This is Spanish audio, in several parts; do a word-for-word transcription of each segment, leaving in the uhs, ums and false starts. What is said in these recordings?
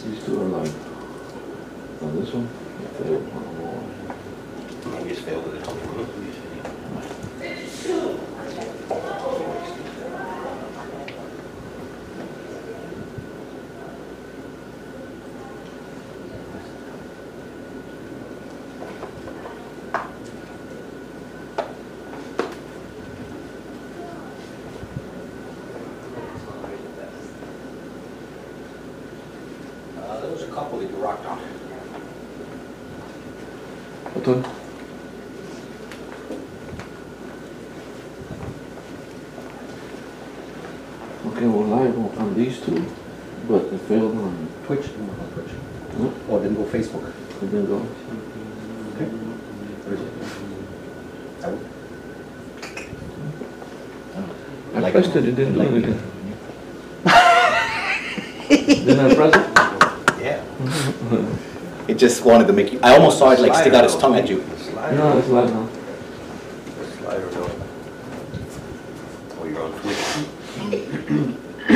These two are live. Now this one, it failed. Maybe it's failed with it. Uh, there was a couple that you rocked on. What one? Okay, we're live on, on these two, but it failed on, Twitch? No, not Twitch. no, Oh, it didn't go Facebook. it didn't go. Okay. What is it? I would- I Like pressed it, it didn't do anything. Didn't I press it? Yeah. It just wanted to make you, I almost saw it like stick out its tongue at you. No, it's live now. Slider though. Oh, you're on Twitch?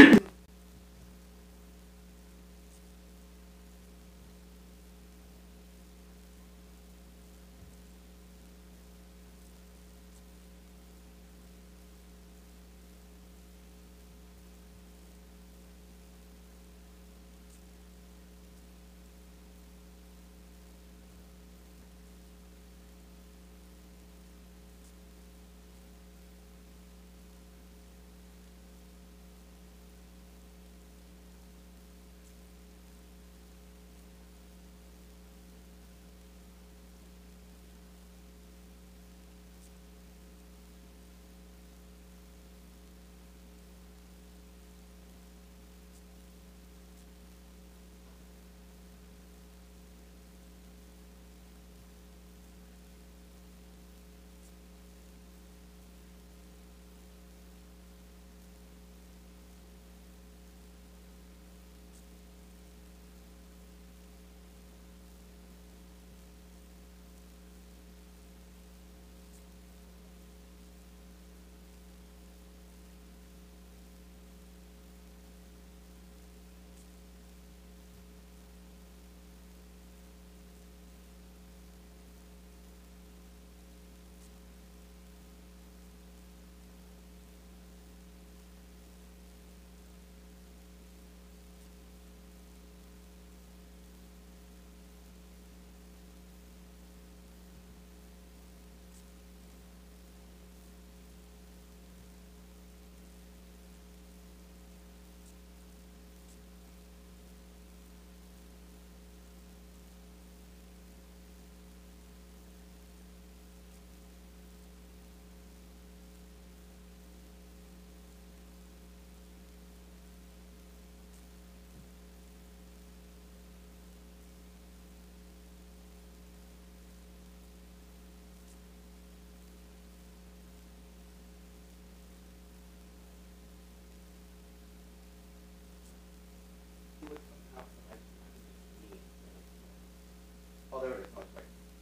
Oh, there it is. Oh, sorry.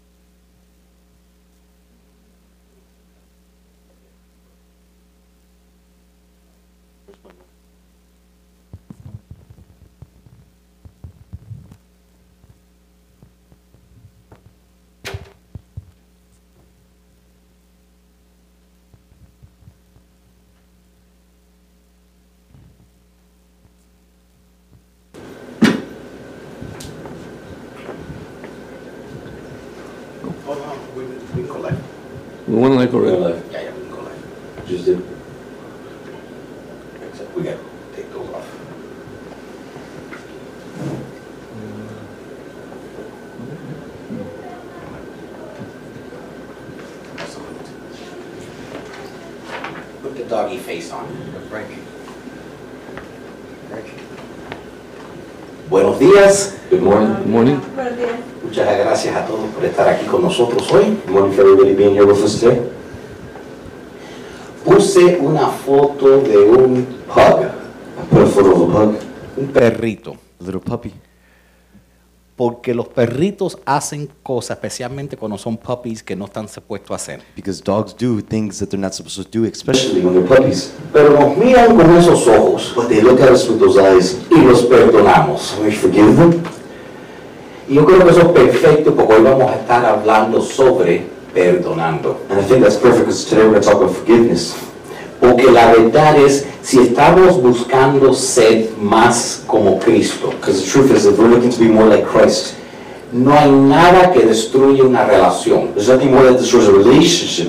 Oh, no, we, we can go live. We went live already. Live. Yeah, yeah, we can go live. Just did. Except we gotta take those off. Put the doggy face on. Frank. Frank. Buenos días. Good morning. Good morning. Buenos días. Muchas gracias a todos por estar aquí con nosotros hoy. Good morning for everybody being here with us today. Puse una foto de un pug, I put a photo of a pug, un perrito, a little puppy. Porque los perritos hacen cosas, especialmente cuando son puppies, que no están supuestos a hacer. Because dogs do things that they're not supposed to do, especially when they're puppies. Pero nos miran con esos ojos But they look at us with those eyes, y los perdonamos. and we forgive them. Y yo creo que eso es perfecto porque hoy vamos a estar hablando sobre perdonando. And I think that's perfect because today we're going to talk about forgiveness. Porque la verdad es, si estamos buscando ser más como Cristo, Because the truth is, if we're looking to be more like Christ, no hay nada que destruya una relación there's nothing more that destroys a relationship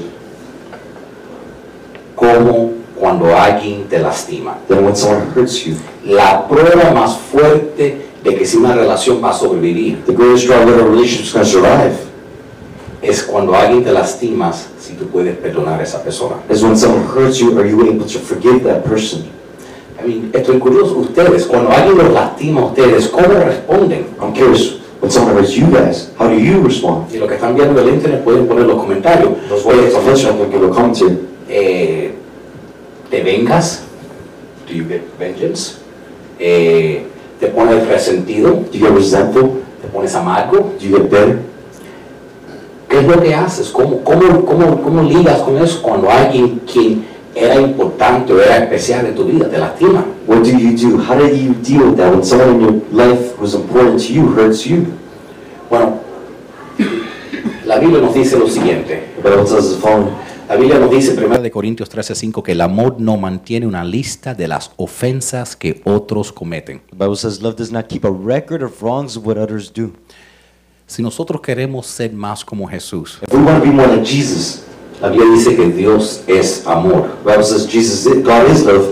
como cuando alguien te lastima. than when someone hurts you. La prueba más fuerte de que si una relación va a sobrevivir The greatest draw that a relationship is going to survive es cuando alguien te lastimas, si tú puedes perdonar a esa persona. is when someone hurts you, are you able to forgive that person? I mean, estoy curioso, ustedes, cuando alguien los lastima a ustedes, ¿cómo responden? I'm curious, when someone hurts you guys, how do you respond? Y lo que están viendo en el internet pueden poner los comentarios. Those words of affliction, I'm going to give a commentary. Eh, ¿Te vengas? Do you get vengeance? Eh, ¿Te pones resentido? Do you get resentful? ¿Te pones amargo? Do you get bitter? ¿Qué es lo que haces? ¿Cómo, cómo, cómo, cómo ligas con eso cuando alguien quien era importante o era especial en tu vida te lastima? What do you do? How do you deal with that when someone in your life who was important to you hurts you? Bueno, la Biblia nos dice lo siguiente. The Bible tells us the following. La Biblia nos dice primero de Corintios trece cinco que el amor no mantiene una lista de las ofensas que otros cometen. The Bible says love does not keep a record of wrongs of what others do. Si nosotros queremos ser más como Jesús, If we want to be more like Jesus, la Biblia dice que Dios es amor. the Bible says Jesus, is, God is love.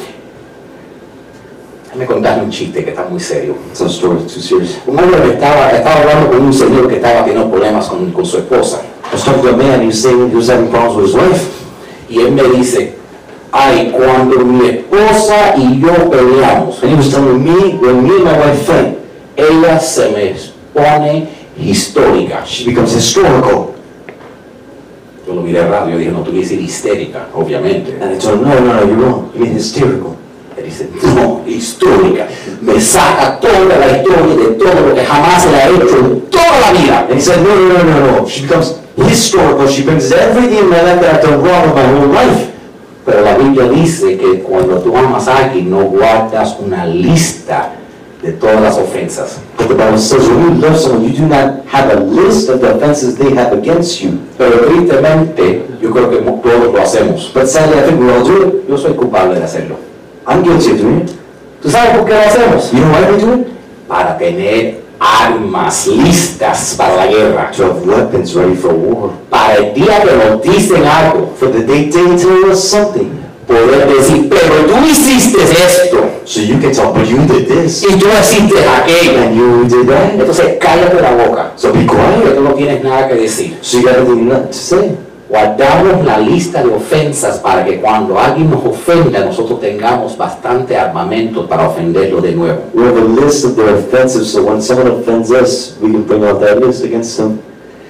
Déjame contarle un chiste que está muy serio. It's not a story, it's too serious. Un hombre que estaba, estaba hablando con un señor que estaba teniendo problemas con, con su esposa. I was talking to a man, he was saying he was having problems with his wife. Y él me dice, ay, cuando mi esposa y yo peleamos, And he was telling me, when me and my wife fight, ella se me pone histórica. she becomes historical. Yo lo miré raro, yo dije, no, tú quieres decir histérica, obviamente. And I told him, no, no, no, you're wrong. You mean hysterical. Él dice, no, histórica. Me saca toda la historia de todo lo que jamás le ha hecho en toda la vida. And he said, no, no, no, no, no. She becomes historical. She brings everything in my life that I've done wrong in my whole life. Pero la Biblia dice que cuando tú amas a alguien, no guardas una lista de todas las ofensas. But the Bible says when you love someone, you do not have a list of the offenses they have against you. Pero tristemente, yo creo que todos lo hacemos. But sadly, I think we all do it. Yo soy culpable de hacerlo. I'm guilty of doing it. ¿Tú sabes por qué lo hacemos? You know why we do it? Para tener armas listas para la guerra. To have weapons ready for war. Para el día que nos dicen algo, For the day they tell us something, poder decir, pero tú hiciste esto so you can tell, but you did this, y tú hiciste aquello. and you did that. Entonces cállate la boca. So be Que quiet. tú no tienes nada que decir. So you got nothing to say. Guardamos la lista de ofensas para que cuando alguien nos ofenda, nosotros tengamos bastante armamento para ofenderlo de nuevo. We have a list of their offenses, so when someone offends us, we can bring out that list against them.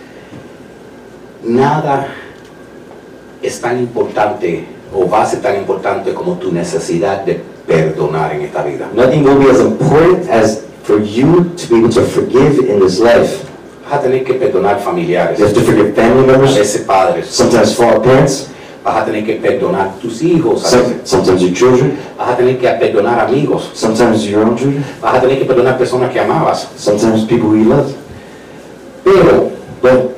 Nada es tan importante o va a ser tan importante como tu necesidad de perdonar en esta vida. Nothing will be as important as for you to be able to forgive in this life. Vas a tener que perdonar familiares, You have to forgive family a members, veces padres, sometimes father parents, vas a tener que perdonar tus hijos, a some, veces. sometimes your children, Vas a tener que perdonar amigos, sometimes your own children, vas a tener que perdonar personas que amabas. sometimes people who you love. Pero But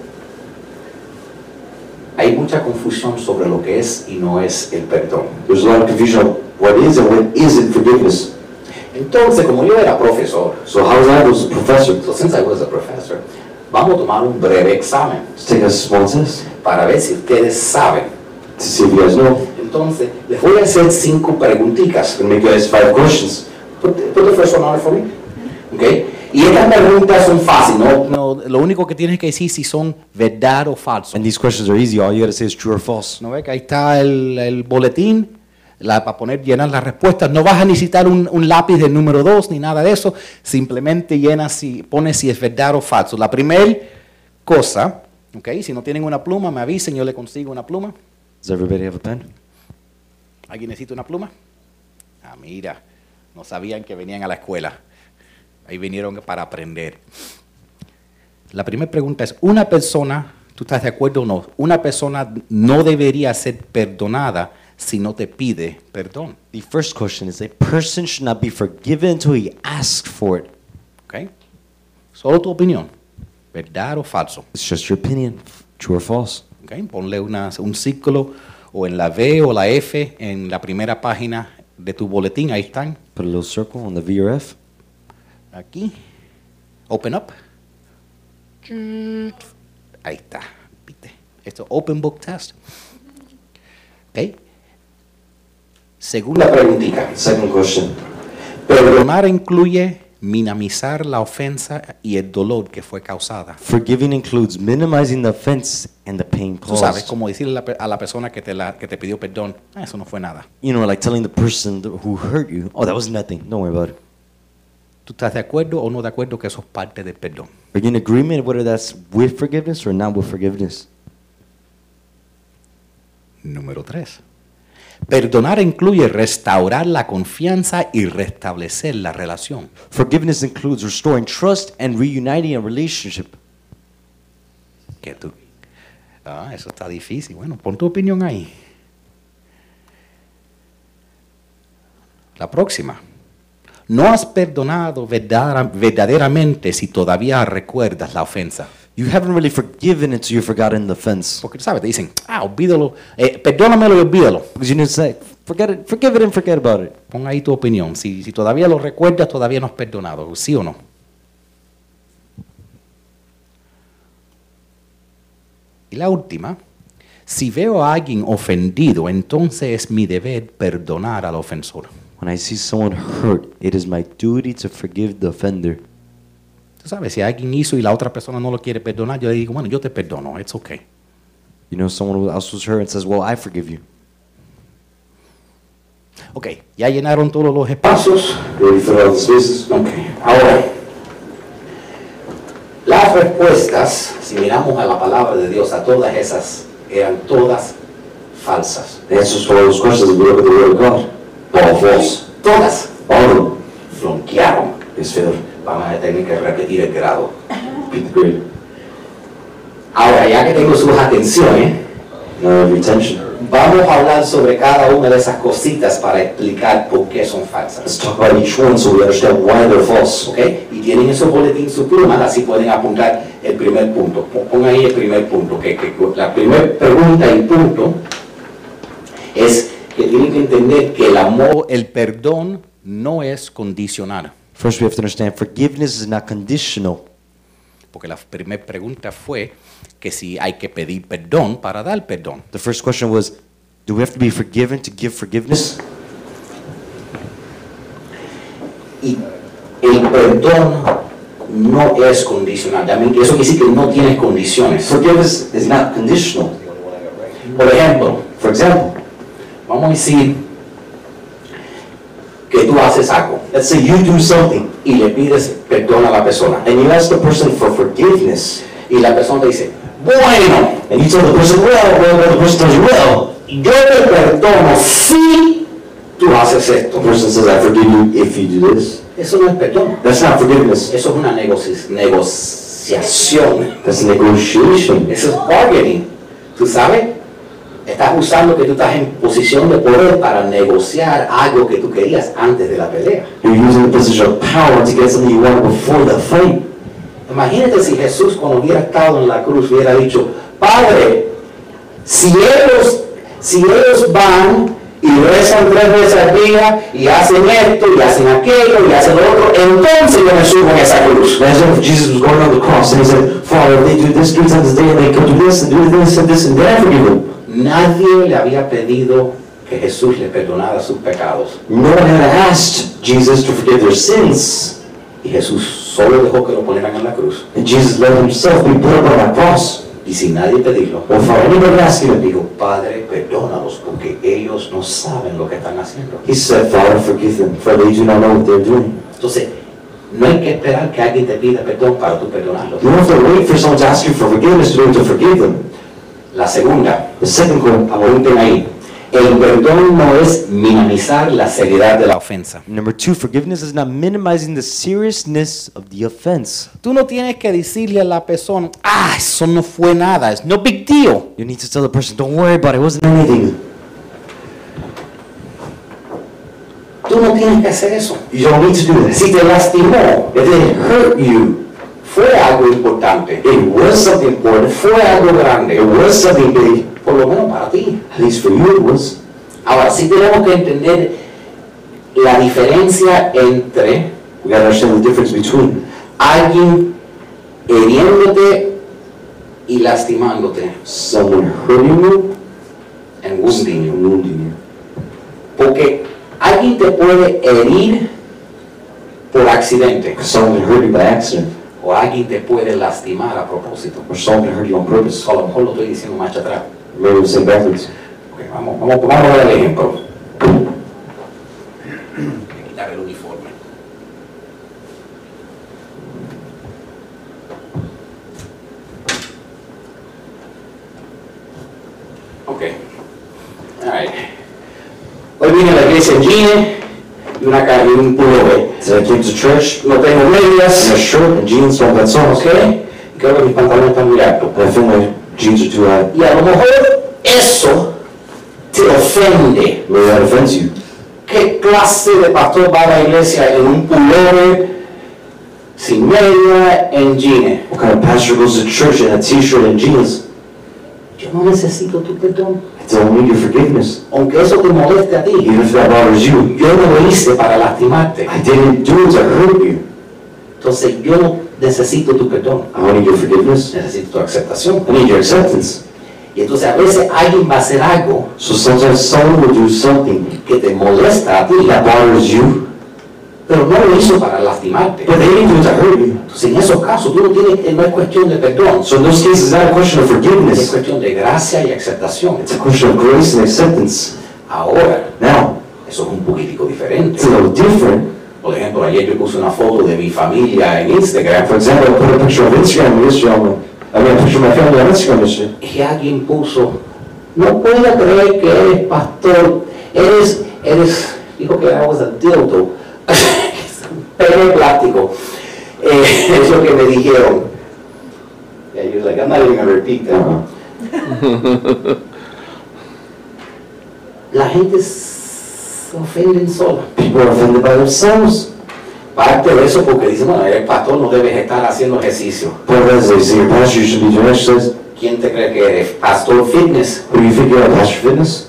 hay mucha confusión sobre lo que es y no es el perdón. there's a lot of confusion on what is and what isn't forgiveness. Entonces, como yo era profesor, So how was I was a professor? so since I was a professor, vamos a tomar un breve examen Let's take a small test para ver si ustedes saben. to see if you guys know. Entonces, les voy a hacer cinco preguntitas. I'm going to make you guys five questions. Put the, put the first one on for me. Okay? Y estas preguntas son fáciles, ¿no? no, lo único que tienes que decir si son verdad o falso. And these questions are easy. All you got to say is true or false. ¿No ves que ahí está el, el boletín la, para poner, llenar las respuestas? No vas a necesitar un, un lápiz del número dos ni nada de eso. Simplemente llenas si pones si es verdad o falso. La primera cosa, okay, si no tienen una pluma, me avisen, yo le consigo una pluma. Does everybody have a pen? ¿Alguien necesita una pluma? Ah, mira, no sabían que venían a la escuela. Ahí vinieron para aprender. La primera pregunta es, ¿una persona, tú estás de acuerdo o no? ¿Una persona no debería ser perdonada si no te pide perdón? The first question is, a person should not be forgiven until he asks for it. ¿Ok? Solo tu opinión, ¿verdad o falso? It's just your opinion, true or false. ¿Ok? Ponle una- un círculo o en la B o la F en la primera página de tu boletín, ahí están, Put a little circle on the V or F. aquí. Open up. Ahí está, ¿viste? Esto es Open Book Test. ¿Ok? Segunda Una preguntita. Second question. Perdonar incluye minimizar la ofensa y el dolor que fue causada. Forgiving includes minimizing the offense and the pain Tú sabes, caused. como decirle a la, pe- a la persona que te, la, que te pidió perdón, "Ah, eso no fue nada. You know, like telling the person th- who hurt you, oh, that was nothing, don't worry about it. ¿Tú estás de acuerdo o no de acuerdo que eso es parte del perdón? Are you in agreement whether that's with forgiveness or not with forgiveness? Número tres. Perdonar incluye restaurar la confianza y restablecer la relación. Forgiveness includes restoring trust and reuniting a relationship. ¿Qué tú? Ah, eso está difícil. Bueno, pon tu opinión ahí. La próxima. No has perdonado verdadera- verdaderamente si todavía recuerdas la ofensa. You haven't really forgiven until you've forgotten the offense. Porque tú sabes, te dicen, ah, olvídalo, eh, perdónamelo y olvídalo. Because you need to say, forget it, forgive it and forget about it. Pon ahí tu opinión. Si, si todavía lo recuerdas, todavía no has perdonado. ¿Sí o no? Y la última. Si veo a alguien ofendido, entonces es mi deber perdonar al ofensor. When I see someone hurt, it is my duty to forgive the offender. Tú sabes, si alguien hizo y la otra persona no lo quiere perdonar, yo le digo, bueno, yo te perdono, it's okay. You know, someone else was hurt and says, well, I forgive you. Ok, ya llenaron todos los espacios. Pasos. Ready for all the spaces? Ok. Ahora, las respuestas, si miramos a la palabra de Dios, a todas esas, eran todas falsas. The answers to all those questions, if you look at the Word of God, all false. Todas All of them flonquearon. is failed. Vamos a tener que repetir el grado. Repeat the grade. Ahora, ya que tengo sus atenciones, Now every attention. vamos a hablar sobre cada una de esas cositas para explicar por qué son Let's falsas. talk about each one so we understand why they're false. ¿Ok? Y tienen en su boletín su pluma, así pueden apuntar el primer punto. Pon pon ahí el primer punto. Que, que- que la primera pregunta y punto es que tienen que entender que el amor O el perdón no es condicional. First, we have to understand forgiveness is not conditional. Porque la primera pregunta fue que si hay que pedir perdón para dar perdón. The first question was, do we have to be forgiven to give forgiveness? y el perdón no es condicional. También eso quiere decir que no tiene condiciones. Forgiveness is not conditional. Por ejemplo, For example, vamos a decir que tú haces algo let's say you do something y le pides perdón a la persona and you ask the person for forgiveness, y la persona te dice, bueno, and you tell the person, well, well, well, the person tells you, well, yo te perdono si tú haces the esto. person says, I forgive you if you do this. Eso no es perdón, That's not forgiveness. eso es una negoci- negociación, That's negotiation. eso es bargaining. ¿Tú sabes? Estás usando que tú estás en posición de poder para negociar algo que tú querías antes de la pelea. You're using the position of power to get something you wanted before the fight. Imagínate si Jesús, cuando hubiera estado en la cruz, hubiera dicho, Padre, si ellos, si ellos van y rezan tres veces al día y hacen esto y hacen aquello y hacen lo otro, entonces yo me subo en esa cruz. Imagine if Jesus was going on the cross and he said, Father, if they do this three times a day and they come do this and do this and this and then I forgive them. Nadie le había pedido que Jesús le perdonara sus pecados. No one had asked Jesus to forgive their sins. Y Jesús solo dejó que lo ponieran en la cruz. And Jesus let himself be put up on that cross. Y sin nadie pedirlo, Without anybody asking him, dijo, Padre, perdónalos porque ellos no saben lo que están haciendo. he said, Father, forgive them, for they do not know what they're doing. Entonces, no hay que esperar que alguien te pida perdón para tú perdonarlos. You don't have to wait for someone to ask you for forgiveness to be able to forgive them. La segunda, The second one, apunten ahí, El perdón no es minimizar la seriedad de la la ofensa. Number two, forgiveness is not minimizing the seriousness of the offense. Tú no tienes que decirle a la persona, ah, eso no fue nada, es no big deal. You need to tell the person, don't worry about it, it wasn't anything. Tú no tienes que hacer eso. You don't need to do this. Si te lastimó, If it hurt you, fue algo importante, it was something important. fue algo grande, It was something big. por lo menos para ti. At least for you it was. Ahora sí tenemos que entender la diferencia entre We gotta understand the difference between alguien hiriéndote y lastimándote, someone hurting you and wounding you. and wounding you. Porque alguien te puede herir por accidente, Someone can hurt you by accident, o alguien te puede lastimar a propósito. or someone can hurt you on purpose. A lo mejor lo estoy diciendo más atrás. Maybe we'll say backwards. Ok, vamos, vamos, vamos a ver el ejemplo. Voy a quitar el uniforme. Ok. All right. Hoy vine a la iglesia en jeans y una ca- y un pullover. So I came to church, No tengo in medias, a shirt and jeans, so that's all. ok. Y creo que mis pantalones están muy altos. And I feel my jeans are too high. Y a lo mejor eso te ofende. Maybe that offends you. ¿Qué clase de pastor va a la iglesia en un pullover, sin media, en jeans? What kind of pastor goes to church in a t-shirt and jeans? Yo no necesito tu perdón. I don't need your forgiveness. Aunque eso te moleste a ti, Even if that bothers you. yo no lo hice para lastimarte. I didn't do it to hurt you. Entonces yo no necesito tu perdón, I don't need your forgiveness. necesito tu aceptación. I need your acceptance. Y entonces a veces alguien va a hacer algo So sometimes someone will do something que te molesta a ti, that bothers you, pero no lo hizo para lastimarte. but they didn't do it to hurt you. Entonces en esos casos tú no tienes, no es cuestión de perdón, So in those cases, it's not a question of es forgiveness. cuestión de gracia y aceptación. It's a question of grace and acceptance. Ahora, Now, eso es un poquitico diferente. it's a little different. Por ejemplo, ayer yo puse una foto de mi familia en Instagram For example, I put a picture of Instagram yesterday on my, I mean, a picture of my family on Instagram yesterday. y alguien puso, no puedo creer que eres pastor, eres, eres, dijo que I was a dildo, pelo de plástico. Eh, es lo que me dijeron. Yeah, you're like, I'm not even gonna repeat that. Uh-huh. La gente se ofende sola. People are offended by themselves. Parte de eso porque dicen, bueno, eres pastor, no debes estar haciendo ejercicio. But as they say, your pastor, you should be doing exercise. ¿Quién te cree que eres? Pastor fitness. Who do you think you are, Pastor Fitness?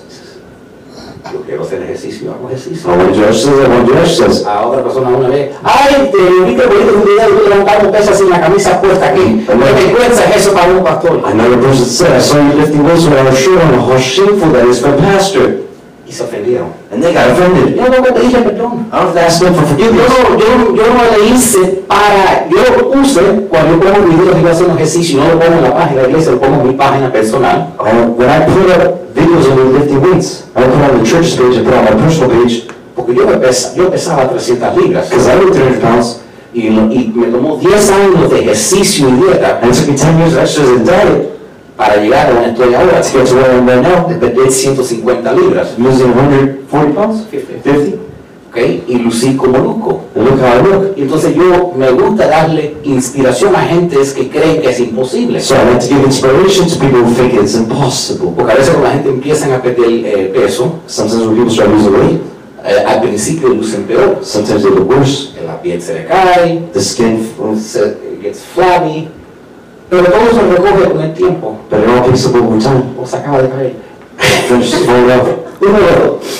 Yo quiero hacer ejercicio, hago ejercicio. I want to do exercise, I want to do exercise. A otra persona una vez, ay, te vi que bonito un video y tú levantando pesas sin la camisa puesta aquí. ¿Qué vergüenza es eso para un pastor? Another person said, I saw you lifting weights without a shirt on. How shameful that is for a pastor. Y se ofendieron. And they got offended. Yo no pedí perdón. I don't have to ask them for Yo forgiveness. no, yo, yo no le hice para, yo lo puse cuando yo pongo videos y voy haciendo ejercicio, no lo pongo en la página de la iglesia, lo pongo en mi página personal. Uh, when I put up videos of me lifting weights, I put on the church's page, I put on my personal page, Porque yo, me pesa, yo pesaba trescientas libras because I weigh three hundred pounds, y, y me tomó diez años de ejercicio y dieta and it took me ten years of exercise and diet para llegar a donde estoy ahora. to get to where I am right now. De perder ciento cincuenta libras. I'm losing one hundred forty pounds? Fifty. fifty? ¿Okay? Y lucí como loco. And look how I look. Y entonces yo me gusta darle inspiración a gentes que creen que es imposible. So I like to give inspiration to people who think it's impossible. Porque a veces cuando la gente empieza a perder eh, peso, Sometimes when people start losing weight, eh, al principio lucen peor. sometimes they look worse. La piel se le cae, The skin, se gets flabby, pero todo se recoge con el tiempo but it all picks up over time. o se acaba de caer. Finishes falling off. Uno de los dos.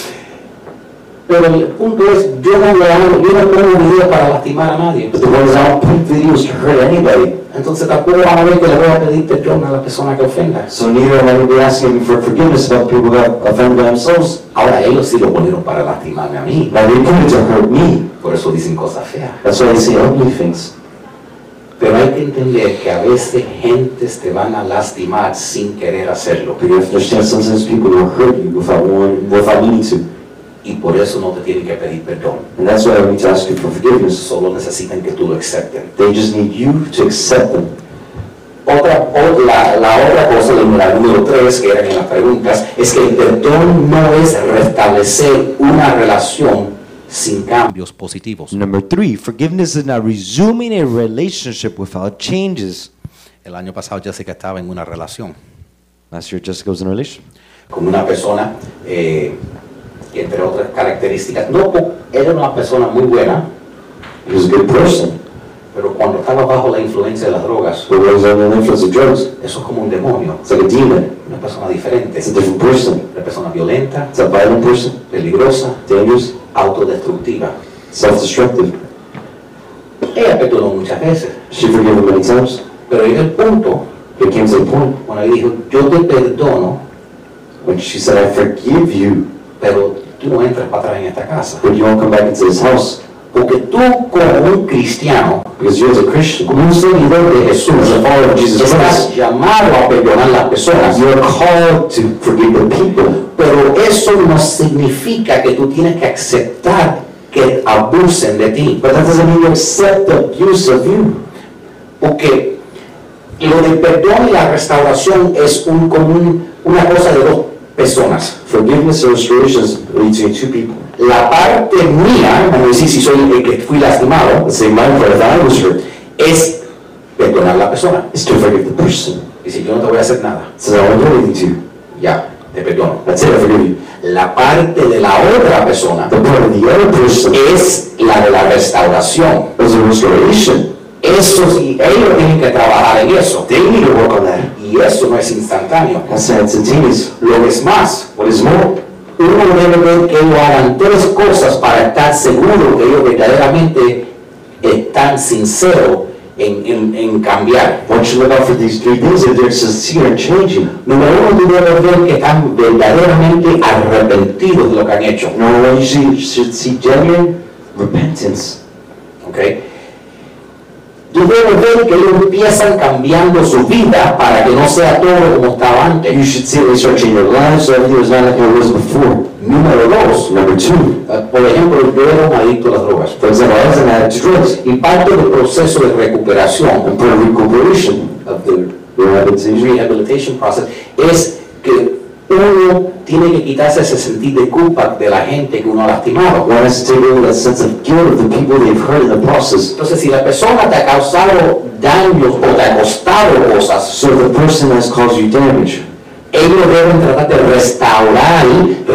Pero el punto es, yo no le hago, yo no pongo videos para lastimar a nadie. But the ones I don't put videos to hurt anybody. Entonces tampoco van a ver que le voy a pedir perdón a la persona que ofenda. So neither am I going to be asking for forgiveness about people who got offended by themselves. Ahora ellos sí lo ponieron para lastimarme a mí. Now they put it to hurt me. Por eso dicen cosas feas. That's why they say ugly things. Pero hay que entender que a veces gentes te van a lastimar sin querer hacerlo. But you have to understand sometimes people will hurt you without wanting, without meaning to. Y por eso no te tienen que pedir perdón. And that's why I need to ask you for forgiveness. Solo necesitan que tú lo acepten. They just need you to accept them. Otra, o- la, la otra cosa, la número tres, que eran en las preguntas, es que el perdón no es restablecer una relación sin cambio. Cambios positivos. Number three, forgiveness is not resuming a relationship without changes. El año pasado Jessica estaba en una relación. Last year, Jessica was in a relationship. Con una persona eh, que, entre otras características, no, po- era una persona muy buena, He was a good person, pero cuando estaba bajo la influencia de las drogas, but when he was under the influence of drugs, eso es como un demonio, it's like a demon. una persona diferente, It's a different person. una persona violenta, It's a violent person, peligrosa, dangerous, autodestructiva. self-destructive. Ella perdonó muchas veces, She forgave him many times. pero llegó el punto But it came to the point cuando ella dijo, yo te perdono, when she said, I forgive you, pero tú no entras para atrás en esta casa. but you won't come back into this house. Porque tú como un cristiano, Because you as a Christian, como un seguidor de Jesús, as a follower of Jesus estás Christ, llamado a perdonar a las personas. you are called to forgive the people. Pero eso no significa que tú tienes que aceptar que abusen de ti. But that doesn't mean you accept the abuse of you. Porque lo del perdón y la restauración es un, como un- una cosa de dos personas. Forgiveness and restoration is between two people. La parte mía, como decir si soy el que fui lastimado, Let's say my part, if I was hurt, es perdonar a la persona. is to forgive the person. Y si yo no te voy a hacer nada, Says, I won't do anything to you. ya, te perdono. That's it, I forgive you. La parte de la otra persona The part of the other person es la de la restauración. is a restoration. Eso sí, ellos tienen que trabajar en eso. They need to work on that. Y eso no es instantáneo. That's not instantaneous. Lo que es más, What is more, uno debe ver que ellos hagan tres cosas para estar seguro que ellos verdaderamente están sinceros en, en, en cambiar. one should look out for these three things if they're sincere and changing. Número uno, tú debes ver que están verdaderamente arrepentidos de lo que han hecho. Number one, you should, should see genuine repentance. ¿Ok? Tú debes ver que ellos empiezan cambiando su vida para que no sea todo como estaba You antes. should see they start changing their lives so everything was not like it was before. Número dos, Number two, eh, por ejemplo, yo era un adicto a las drogas. for example, I was an addict to drugs. Y parte del proceso de recuperación, And part of recuperation, of the rehabilitation, rehabilitation process, es que uno tiene que quitarse ese sentir de culpa de la gente que uno ha lastimado. one has to take away that sense of guilt of the people they've hurt in the process. Entonces, si la persona te ha causado daños o te ha costado cosas, So if the person has caused you damage, ellos deben tratar de restaurar,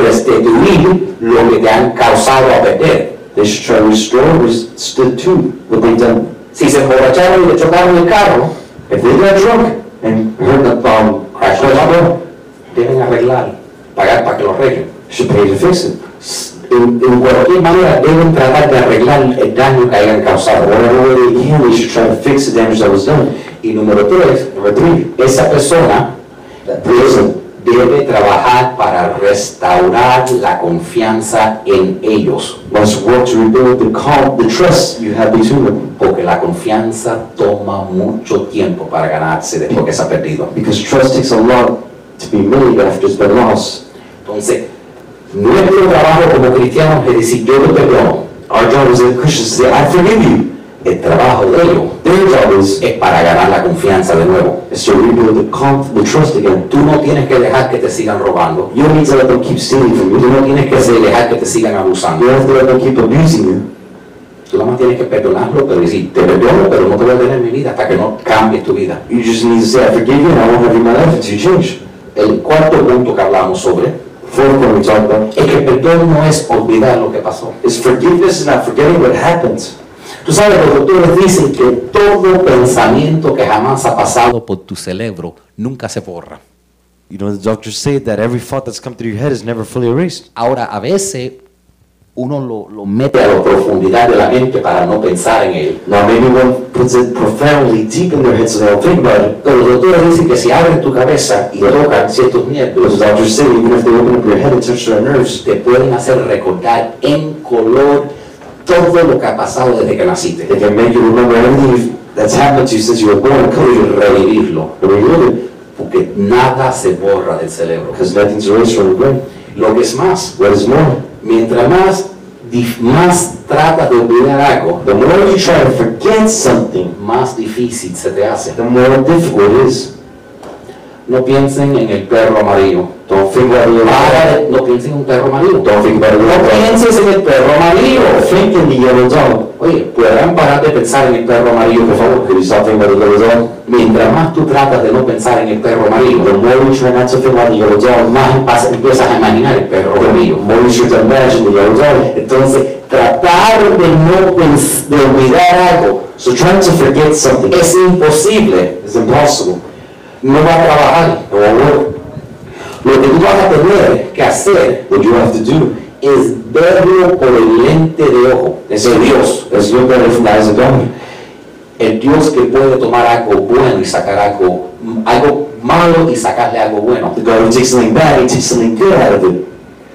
restituir lo que te han causado a perder. they should try to restore, restitute what they've done. Si se emborracharon y le chocaron el carro, If they got drunk and hurt the um, crash crashed the car, deben arreglar, pagar para que lo arreglen. should pay to fix it. En, en cualquier manera, deben tratar de arreglar el daño que hayan causado. Whatever way they can, they should try to fix the damage that was done. Y número tres, Number three, esa persona that person debe trabajar para restaurar la confianza en ellos, must work to rebuild the calm, the trust you have between them. porque la confianza toma mucho tiempo para ganarse después que se ha perdido. Because trust takes a lot to be made after it's been lost. Entonces, nuestro trabajo como cristianos es decir, yo te perdono. Our job as a Christians is to say, I forgive you. El trabajo de ellos Their job is, es para ganar la confianza de nuevo. is to rebuild the, calm, the trust again. Tú no tienes que dejar que te sigan robando. You don't need to let them keep stealing from Tú you. no tienes que dejar que te sigan You abusando. don't have to let them keep abusing you. Tú nada más tienes que perdonarlo, pero decir, te perdono, pero no te voy a tener en mi vida hasta que no cambies tu vida. You just need to say, I forgive you and I won't have you in my life until you change. El cuarto punto que hablamos sobre Fourth one we talk about es que el perdón no es olvidar lo que pasó. is forgiveness is not forgetting what happened. Tú sabes, los doctores dicen que todo pensamiento que jamás ha pasado Por tu cerebro nunca se borra. You know, the doctors say that every thought that's come through your head is never fully erased. Ahora, a veces uno lo, lo mete mete a la profundidad de la mente para no pensar en él. Now maybe one puts it profoundly deep in their head so they don't think about it. Pero los doctores dicen que si abren tu cabeza y tocan ciertos But nervios, the doctors say even if they open up your head and touch their nerves, te pueden hacer recordar en color todo lo que ha pasado desde que naciste. they can make you remember everything that's happened to you since you were born and color Y you revivirlo, and relive it porque nada se borra del cerebro. because nothing's erased from the brain. Lo que es más, What is more, mientras más dif- más tratas de olvidar algo, the more you try to forget something, más difícil se te hace. the more difficult it is. No piensen en el perro amarillo. Don't think about the Para yellow de- no piensen en un perro amarillo. Don't think about the No yellow dog. pienses en el perro amarillo. Think in the yellow dog. Oye, ¿podrán parar de pensar en el perro amarillo, por favor? Could you stop thinking about the yellow dog? Mientras más tú tratas de no pensar en el perro The amarillo, more you try not to think about the yellow dog, más empas- empiezas a imaginar el perro the amarillo. more you should imagine the yellow dog. Entonces, tratar de no pens- de olvidar algo So trying to forget something es imposible, is impossible. no va a trabajar. It won't work. Lo que tú vas a tener que hacer What you have to do es verlo por el lente de ojo is de Dios. is look at it from the eyes of God. El Dios que puede tomar algo bueno y sacar algo, algo malo y sacarle algo bueno. The God who takes something bad, He takes something good out of it.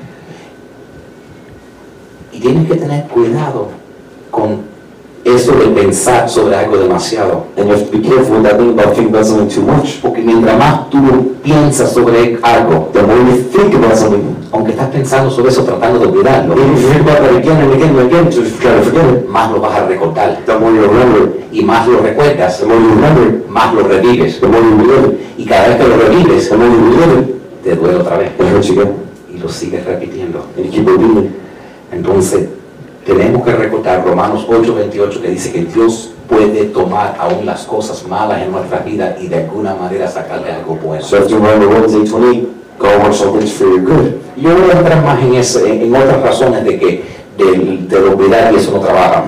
Y tienes que tener cuidado con eso de pensar sobre algo demasiado. And you have to be careful with that thing about thinking about something too much. Porque mientras más tú piensas sobre algo, The more you think about something, aunque estás pensando sobre eso tratando de olvidarlo, even if you think about that again and again and again to try to forget it, más lo vas a recordar. the more you remember it, Y más lo recuerdas, the more you remember it, más lo revives. the more you relive it, Y cada vez que lo revives, the more you relive it, te duele otra vez. it hurts you again. Y lo sigues repitiendo. And you keep repeating it. Entonces, tenemos que recordar Romanos ocho veintiocho que dice que Dios puede tomar aún las cosas malas en nuestra vida y de alguna manera sacarle algo bueno. So you have to remember Romans eight twenty-eight, God works all things for your good. Yo voy a entrar más en, ese, en otras razones de que del, del olvidar y eso no trabaja.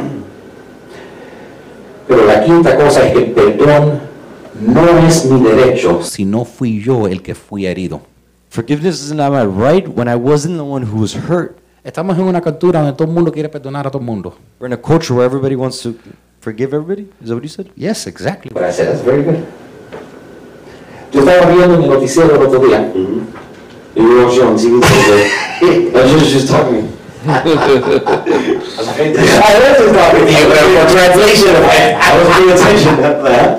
Pero la quinta cosa es que el perdón no es mi derecho, Si no fui yo el que fui herido. Forgiveness is not my right when I wasn't the one who was hurt. Estamos en una cultura donde todo el mundo quiere perdonar a todo el mundo. We're in a culture where everybody wants to forgive everybody. Is that what you said? Yes, exactly. but I said, that's very good. Yo estaba viendo en el noticiero el otro día, Mm-hmm. You were watching on T V today. I was just, just talking. I was talking to you, but for translation, I was paying attention at that.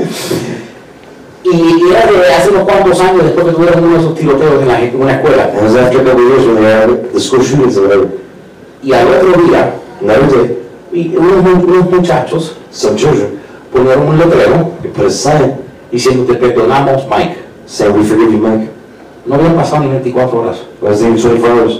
y, y era de hace unos cuantos años después que tuvieron uno de esos tiroteos en, la, en una escuela. It was after a couple of years when they had the school shootings or whatever. Y al otro día, Another day, y unos, mu- unos muchachos some children, ponieron un letrero they put a sign diciendo te perdonamos, Mike. saying, we forgive you, Mike. No habían pasado ni veinticuatro horas. It was even twenty-four hours.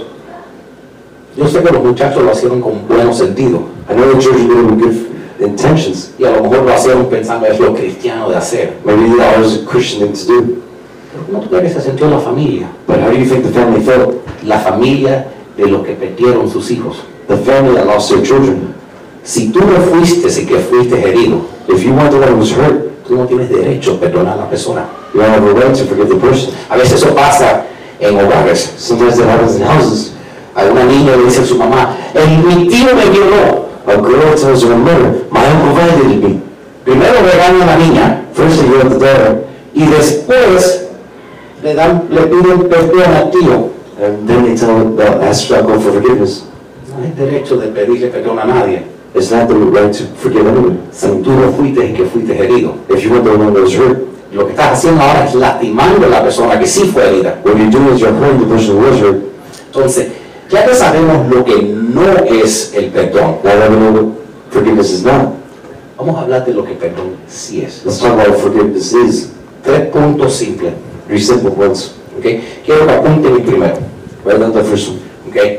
Yo sé que los muchachos lo hicieron con buen sentido I know the children did it with good intentions. y a lo mejor lo hicieron pensando es lo cristiano de hacer. Maybe that was a Christian thing to do. Pero ¿cómo tú crees que se sintió la familia? But how do you think the family felt? La familia de los que perdieron sus hijos. The family that lost their children. Si tú no fuiste el que fuiste herido, If you weren't the one who was hurt, tú no tienes derecho a perdonar a la persona. you don't have a right to forgive the person. A veces eso pasa en hogares. Sometimes that happens in houses. A una niña le dice a su mamá, el, mi tío me violó. A girl tells her mother, my uncle violated me. Primero regaña a la niña First they yell at the daughter, y después le, dan, le piden perdón al tío. and then they tell the ask the uncle for forgiveness. No hay derecho de pedirle perdón a nadie. It's not the right to forgive anyone. Si tú no fuiste el que fuiste herido. If you weren't the one that was hurt, Lo que estás haciendo ahora es lastimando a la persona que sí fue herida. what you're doing is you're hurting the person who was hurt. Entonces, ya que sabemos lo que no es el perdón, Now that we know what forgiveness is not, vamos a hablar de lo que perdón sí es. let's talk about what forgiveness is. Tres puntos simples. Three simple ones. ¿Okay? Quiero que apunten el primero. Write down the first one. ¿Okay?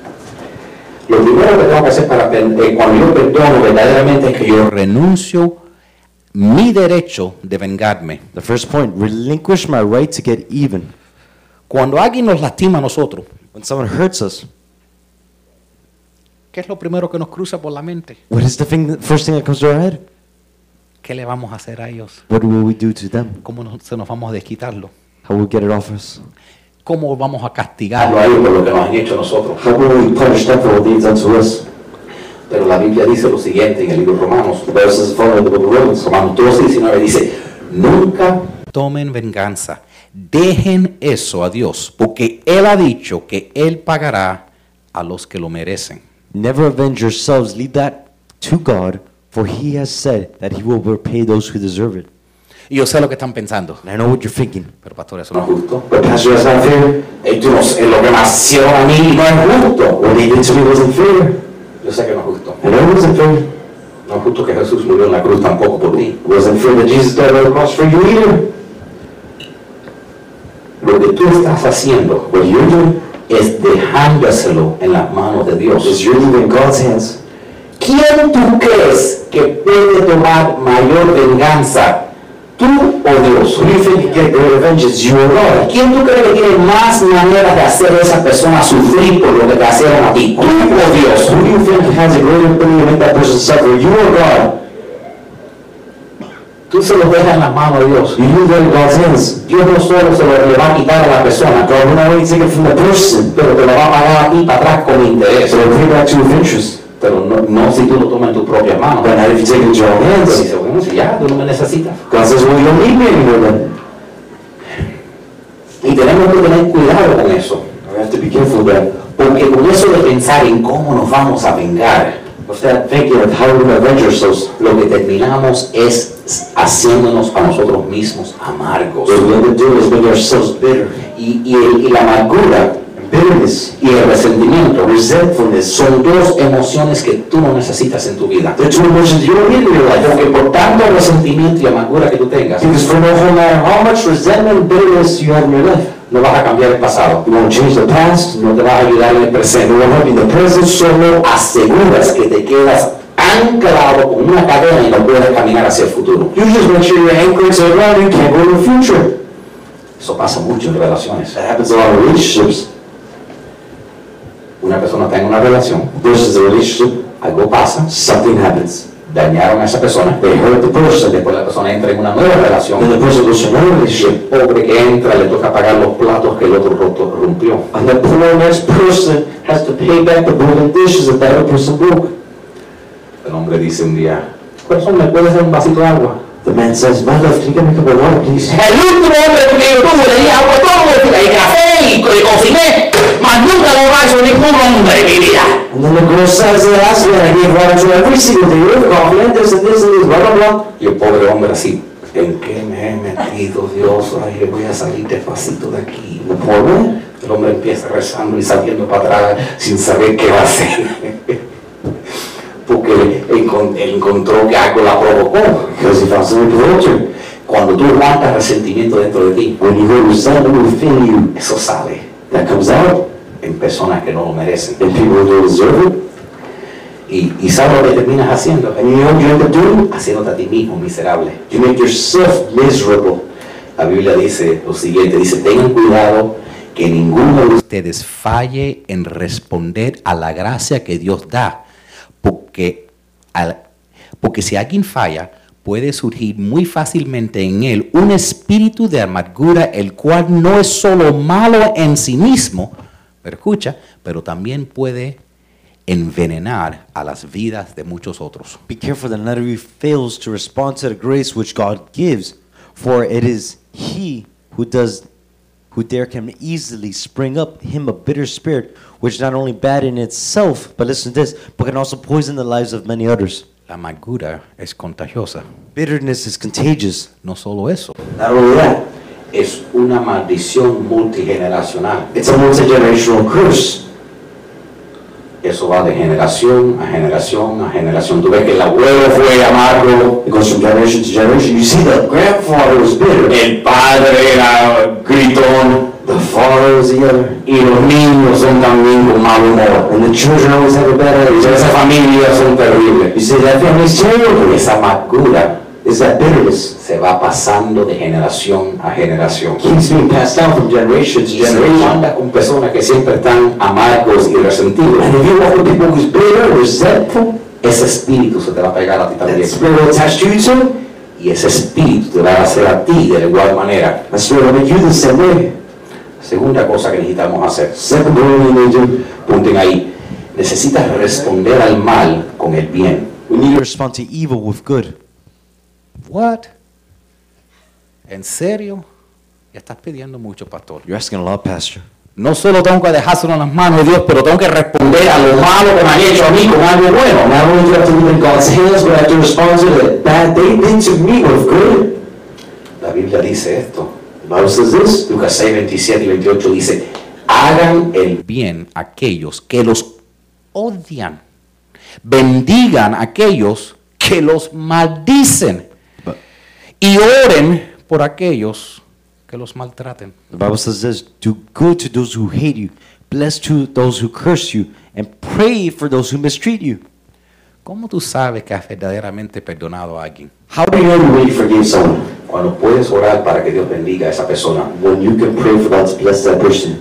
Lo primero que tengo que hacer para per- eh, cuando yo perdono verdaderamente es que yo Renuncio mi derecho de vengarme. The first point, relinquish my right to get even. Cuando alguien nos lastima a nosotros, When someone hurts us, ¿qué es lo primero que nos cruza por la mente? what is the thing, the first thing that comes to our head? ¿Qué le vamos a hacer a ellos? What will we do to them? ¿Cómo nos- se nos vamos a desquitarlo? How will we get it off us? ¿Cómo vamos a hago castigarlo? a ellos por lo que nos han hecho a nosotros. How can we punish them for what they've done to us? Pero la Biblia dice lo siguiente en el libro de Romanos. The Bible says the following in the book of Romans. Romanos doce, diecinueve dice, nunca Tomen venganza. Dejen eso a Dios, porque Él ha dicho que Él pagará a los que lo merecen. Never avenge yourselves, leave that to God, for he has said that he will repay those who deserve it. Y yo sé lo que están pensando. And I know what you're thinking. Pero pastor, eso no es no. justo. But Pastor, that's not fair. Eh, tú no sé, lo que me hicieron a mí no es justo. What they did to me wasn't fair. Yo sé que no es justo. I know it wasn't fair. No es justo que Jesús murió en la cruz tampoco por ti. It wasn't fair that Jesus died on the cross for you either. Lo que tú estás haciendo, What you're doing es dejándoselo en las manos de Dios. is you're leaving God's hands. ¿Quién tú crees que puede tomar mayor venganza? ¿Tú o Dios? Who do you think can get greater vengeance, you or God? ¿Quién tú crees que tiene más maneras de hacer a esa persona sufrir por lo que te hicieron a ti? ¿Tú o Dios? Who do you think has a greater ability to make that person suffer, you or God? Tú se los dejas en las manos de Dios. You leave that in God's hands. Dios no solo se lo le va a quitar a la persona, God will not only take it from the person, pero te lo va a pagar a ti para atrás con interés. so it'll pay back to you with interest. Pero no, no si tú lo tomas en tus propias manos. But not if you take it into your own Pero hands. dice, bueno, si ya tú no me necesitas. God says, well, you don't need me anymore then. Y tenemos que tener cuidado con eso. We have to be careful of that. Porque con eso de pensar en cómo nos vamos a vengar, With that thinking of how we're going to avenge ourselves, lo que terminamos es haciéndonos a nosotros mismos amargos. what we end up doing is making ourselves bitter. Y, y, el- y la amargura And bitterness, y el resentimiento resentfulness, son dos emociones que tú no necesitas en tu vida. they're two emotions you don't need in your life. Porque por tanto resentimiento y amargura que tú tengas, Because for no matter how much resentment and bitterness you have in your life, no vas a cambiar el pasado, you won't change the past, no te vas a ayudar en el it presente. won't help you in the present, Solo aseguras que te quedas anclado con una cadena y no puedes caminar hacia el futuro. you just make sure you're anchored to the ground and you can't go to the future. Eso pasa mucho en relaciones. That happens a lot in relationships. Una persona está en una relación, Versus a relationship, algo pasa, something happens. dañaron a esa persona, They hurt the person, después la persona entra en una nueva relación, then the person goes to another y el relationship, pobre que entra le toca pagar los platos que el otro roto- rompió. and the poor next person has to pay back the broken dishes that that other person broke. El hombre dice un día, corazón, ¿me puedes dar un vasito de agua? The man says, my love, can you get me a cup of water, please? El último hombre que yo tuve le di agua todo el día, y café y, y cociné, mas nunca lo va a hacer ningún hombre en mi vida. And then the girl says, the last man, I gave water to every single day, with coffee, and this and this and this, blah, blah, blah. Y el pobre hombre así, ¿en qué me he metido, Dios? Ay, voy a salir despacito de aquí. The poor man, El hombre empieza rezando y saliendo para atrás sin saber qué va a hacer. Porque encon- él encontró que algo la provocó. because he found something provoked her. Cuando tú aguantas resentimiento dentro de ti, When you hold resentment within you, eso sale that comes out, en personas que no lo merecen. and people who don't deserve it. Y, y ¿sabes lo que terminas haciendo? And you know what you end up doing? Haciéndote a ti mismo miserable. You make yourself miserable. La Biblia dice lo siguiente, dice, tengan cuidado que ninguno de ustedes falle en responder a la gracia que Dios da, porque, al- porque si alguien falla, puede surgir muy fácilmente en él un espíritu de amargura, el cual no es solo malo en sí mismo, pero escucha, pero también puede envenenar a las vidas de muchos otros. Be careful that none of you fails to respond to the grace which God gives, for it is he who does who there can easily spring up him a bitter spirit, which not only bad in itself, but listen to this, but can also poison the lives of many others. La amargura es contagiosa. Bitterness is contagious. No solo eso, Not only that, es una maldición multigeneracional. it's a multi-generational curse. Eso va de generación a generación a generación. Tú ves que el abuelo fue amargo, It goes from generation to generation. You see, the grandfather was bitter, el padre era gritón, the father was the other, y los niños son también con mal humor. and the children always have a bad Y esas attitude. familias son You terribles. say that family's Y terrible. esa amargura Is that bitterness se va pasando de generación a generación. keeps being passed down from generation to Y si tú generation. andas con personas que siempre están amargos y resentidos, And if you walk with people who's bitter, resentful, ese espíritu se te va a pegar a ti that también. spirit will attach to you too. Y ese espíritu te va a hacer a ti de igual manera. That spirit will make you the same way. Segunda cosa que necesitamos hacer, Second thing we need to do, punten ahí, necesitas responder al mal con el bien. We need to respond to evil with good. What? ¿En serio? Ya estás pidiendo mucho, pastor. You're asking a lot, Pastor. No solo tengo que dejárselo en las manos de Dios, pero tengo que responder a lo malo que me han hecho a mí con algo bueno. not only do you have to leave in God's hands, but I have to respond to the bad they did to me with good. La Biblia dice esto. The Bible says this. Lucas seis, veintisiete y veintiocho dice, hagan el bien a aquellos que los odian. bendigan a aquellos que los maldicen y oren por aquellos que los maltraten. The Bible says this, do good to those who hate you, bless to those who curse you, and pray for those who mistreat you. ¿Cómo tú sabes que has verdaderamente perdonado a alguien? How do you know you really forgave someone? Cuando puedes orar para que Dios bendiga a esa persona. When you can pray for God to bless that person.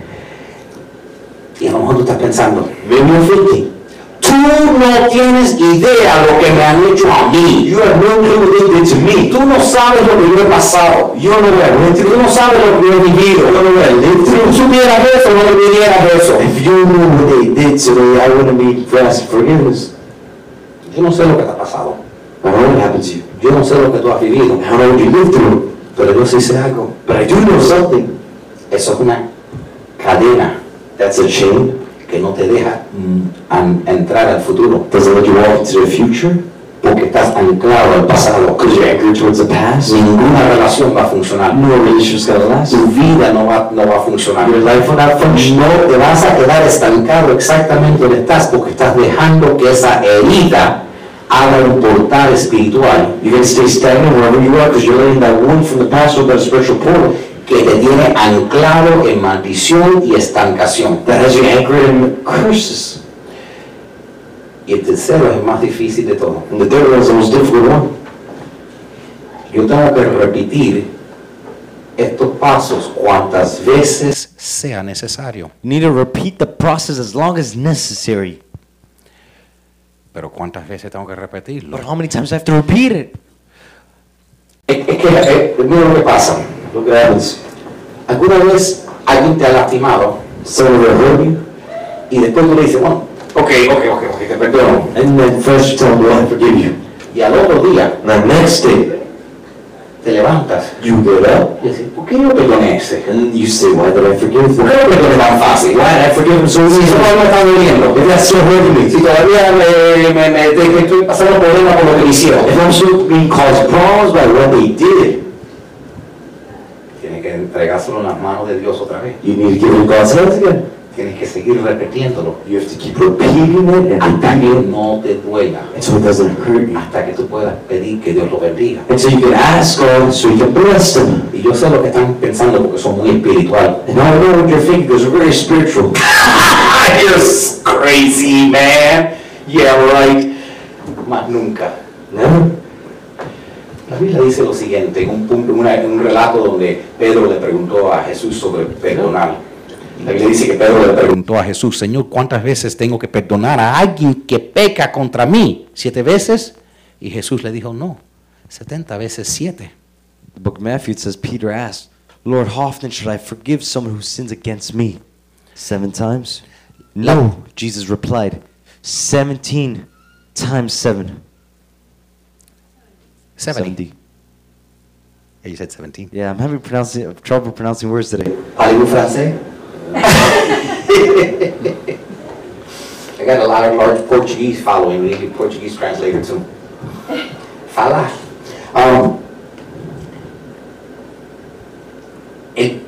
Y a lo mejor tú estás pensando, Maybe you're thinking, tú no tienes idea lo que me han hecho a mí. you have no clue what they did to me. Tú no sabes lo que yo he pasado. You don't know what I went Tú through. no sabes lo que yo he vivido. You don't know what I lived Si tú through. supieras eso, no le pidieras eso. If you knew what they did to me, I wouldn't be asking forgiveness. Yo no sé lo que te ha pasado. I don't know what happened to you. Yo no sé lo que tú has vivido. I don't know what you lived through. Pero yo sí sé algo. But I do know something. Eso es una cadena That's a chain. que no te deja mm, an- entrar al futuro. Doesn't let you walk into the future. Porque estás anclado al pasado. Because you're anchored towards the past. Ninguna relación va a funcionar. No relationship's gonna last. Tu vida no va, no va a funcionar. Your life will not function. No te vas a quedar estancado exactamente donde estás porque estás dejando que esa herida haga un portal espiritual You're gonna stay stagnant wherever you are because you're letting that wound from the past open a spiritual portal que te tiene anclado en maldición y estancación. that has you anchored in curses. Y el tercero es el más difícil de todo. And the third one is the most difficult one. Yo tengo que repetir estos pasos cuantas veces Sea necesario. You need to repeat the process as long as necessary. Pero ¿cuántas veces tengo que repetirlo? But how many times do I have to repeat it? es, es que eh, mira lo que pasa. Look what happens. Alguna vez alguien te ha lastimado Someone will hurt you, y después tú le dices, bueno, ok, ok, ok, ok, te perdono. and then first you tell them, well, I forgive you. Y al otro día And the next day, te levantas you get up, y dices, ¿por qué yo perdoné ese? and you say, why did I forgive ¿Por them? qué lo perdoné tan fácil? Why did I forgive them so Si eso easily? no me está doliendo. If that's still hurting me, Si todavía me, me, me- te- te estoy pasando problemas por lo que me hicieron. if I'm still being caused problems by what they did, Tienes que entregárselo en las manos de Dios otra vez. you need to give it in God's hands again. Tienes que seguir repitiéndolo You have to keep repeating it and hasta que repeating it no te duela. until it doesn't hurt you. Hasta que tú puedas pedir que Dios lo bendiga. Until you can ask God so you can bless them. Y yo sé lo que están pensando porque son muy espiritual. And I know what you're thinking because we're very spiritual. You're crazy, man. Yeah, right. Más nunca. Never. La Biblia dice lo siguiente, en un, punto, una- en un relato donde Pedro le preguntó a Jesús sobre perdonar. La Biblia dice que Pedro le preguntó, Preguntó a Jesús, Señor, ¿cuántas veces tengo que perdonar a alguien que peca contra mí? ¿Siete veces? Y Jesús le dijo, no, setenta veces siete. The book of Matthew, it says, Peter asked, Lord, how often should I forgive someone who sins against me? Seven times? No, Jesus replied, seventeen times seven. seventy. Yeah, you said seventeen. Yeah, I'm having pronouncing, trouble pronouncing words today. ¿Parlez-vous français? I got a lot of large Portuguese following, we need a Portuguese translator too. Fala. Um, el-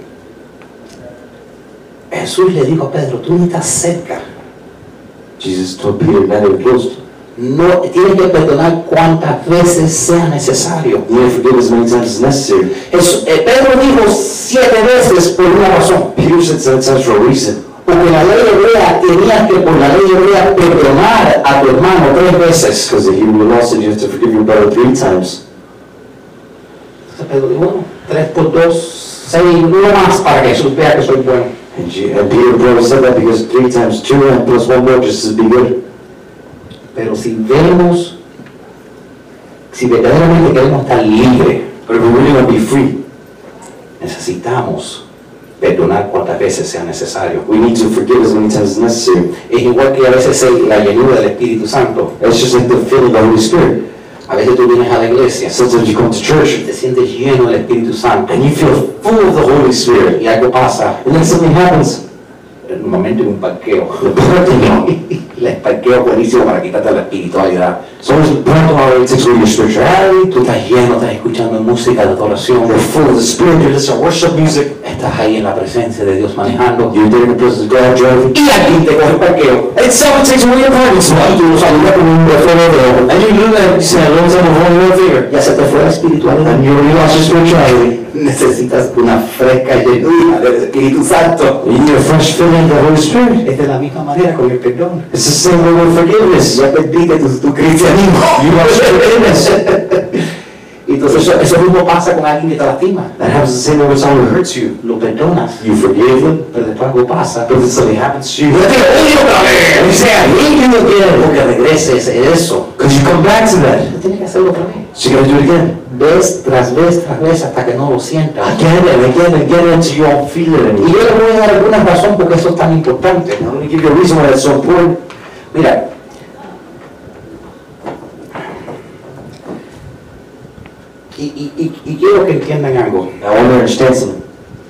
Jesús le dijo a Pedro, tú no estás cerca. Jesus told Peter not to be close. No, tienes que perdonar cuantas veces sea necesario. You need to forgive as many times as necessary. Jesús- eh, Pedro dijo siete veces por una razón. Peter said seven times for a reason. Porque la ley hebrea tenía que por la ley hebrea perdonar a tu hermano tres veces. Because the Hebrew law said you have to forgive your brother three times. Entonces Pedro dijo, bueno, tres por dos, seis, uno más para que Jesús vea que soy bueno. And, you, and Peter probably said that because three times two and plus one more just to be good. Pero si vemos, si verdaderamente queremos estar libres, But if we really want to be free, necesitamos perdonar cuantas veces sea necesario. we need to forgive as many times as necessary. Es igual que a veces el- la llenura del Espíritu Santo. It's just like the filling of the Holy Spirit. A veces tú vienes a la iglesia Sometimes you come to y church te sientes lleno del Espíritu Santo and you feel full of the Holy Spirit. y algo pasa, And then something happens. normalmente en un parqueo. The parking lot. El parqueo es buenísimo para quitarte la espiritualidad. So it's pronto it takes away your spirituality. Tú estás lleno, estás escuchando música de adoración. You're full of the Spirit. You're listening to worship music. Estás ahí en la presencia de Dios manejando. You're there in the presence of God driving. Y alguien te coge el parqueo. And someone takes away your parking Y spot. tú lo saludas con un beso de dedo. And you do that, you say, hello, time of holding your finger. Ya se te fue la espiritualidad. And you already lost your spirituality. Necesitas una fresca llenura del Espíritu Santo. You need a fresh filling of the Holy Spirit. Es de la misma manera con el perdón. It's the same way with forgiveness. Ya perdiste tu, tu cristianismo. You lost your forgiveness. Y entonces eso, eso mismo pasa con alguien que te lastima. That happens the same way with someone who hurts you. Lo perdonas, You forgive them, pero después algo pasa. but then something happens to you. Yo te odio otra vez. And you say, I hate you again. Porque regreses a eso. Because you come back to that. Tú tienes que hacerlo otra vez. So you gotta do it again. Vez tras vez tras vez hasta que no lo sientas. Again and again and again until you don't feel it Y anymore. yo le voy a dar alguna razón porque eso es tan importante. I'm going to give you a reason why that's so important. Mira, y, y, y, y quiero que entiendan algo. I want to understand something.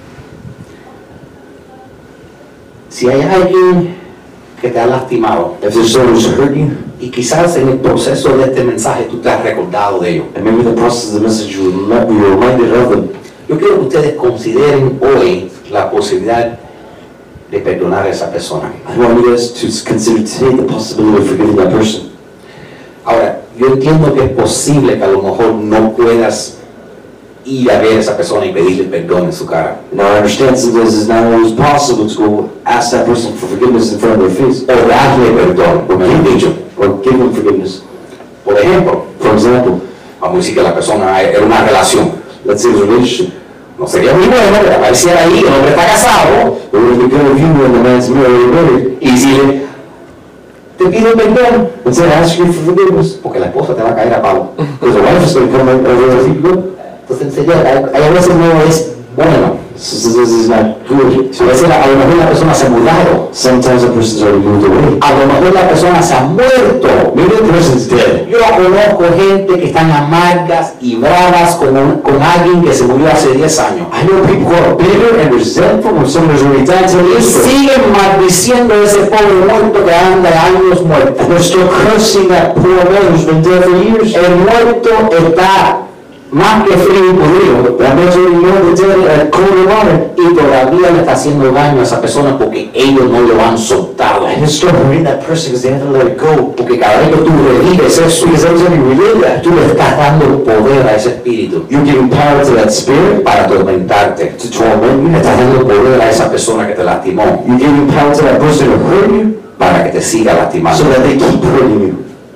Si hay alguien que te ha lastimado If there's someone who's hurt you, y quizás en el proceso de este mensaje tú te has recordado de ello, and maybe in the process of the message you remi- you were reminded of them, yo quiero que ustedes consideren hoy la posibilidad de perdonar a esa persona. I want you guys to consider today the possibility of forgiving that person. Ahora, yo entiendo que es posible que a lo mejor no puedas ir a ver a esa persona y pedirle perdón en su cara, Now I understand sometimes it's not always possible to go ask that person for forgiveness in front of their face, o darle perdón, como he dicho. or give them forgiveness. Por ejemplo, For example, vamos a decir que la persona era una relación. let's say it's a relationship. No sería muy bueno que apareciera ahí, el hombre está casado, It would be good if you when the man's married, married, y decirle, te pido perdón, and say, ask you for forgiveness. porque la esposa te va a caer a palo. Because the wife is going to come over and think, good. Entonces, en serio, hay, hay a veces no es bueno. So so this is not good. A veces la- a lo mejor la persona se ha mudado, Sometimes a person's already moved away. a lo mejor la persona se ha muerto. Maybe the person's dead. Yo conozco gente que están amargas y bravas con, un- con alguien que se murió hace diez años. I know people who are bitter and resentful when someone has already died ten Y years ago. siguen maldiciendo a ese pobre muerto que anda años muerto. And they're still cursing that poor man who's been dead for years. El muerto está más que frío y podrido. That man's already known the dead at cold and water. Y todavía le está haciendo daño a esa persona porque ellos no lo han soltado. And it's still hurting that person because they haven't let it go. Porque cada vez que tú revives eso, Because every time you relive that, tú le estás dando poder a ese espíritu you're giving power to that spirit para atormentarte. to torment you. Le estás dando poder a esa persona que te lastimó You're giving power to that person to hurt you para que te siga lastimando. so that they keep hurting you.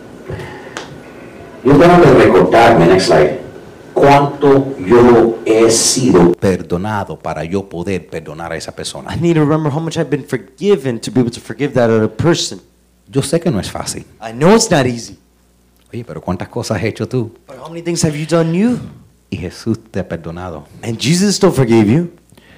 Yo tengo que recordarme, next slide, cuánto yo he sido. Perdonado para yo poder perdonar a esa persona. I need to remember how much I've been forgiven to be able to forgive that other person. Yo sé que no es fácil. I know it's not easy, Oye, pero ¿cuántas cosas has hecho tú? but how many things have you done you? Y Jesús te ha perdonado. And Jesus still forgave you.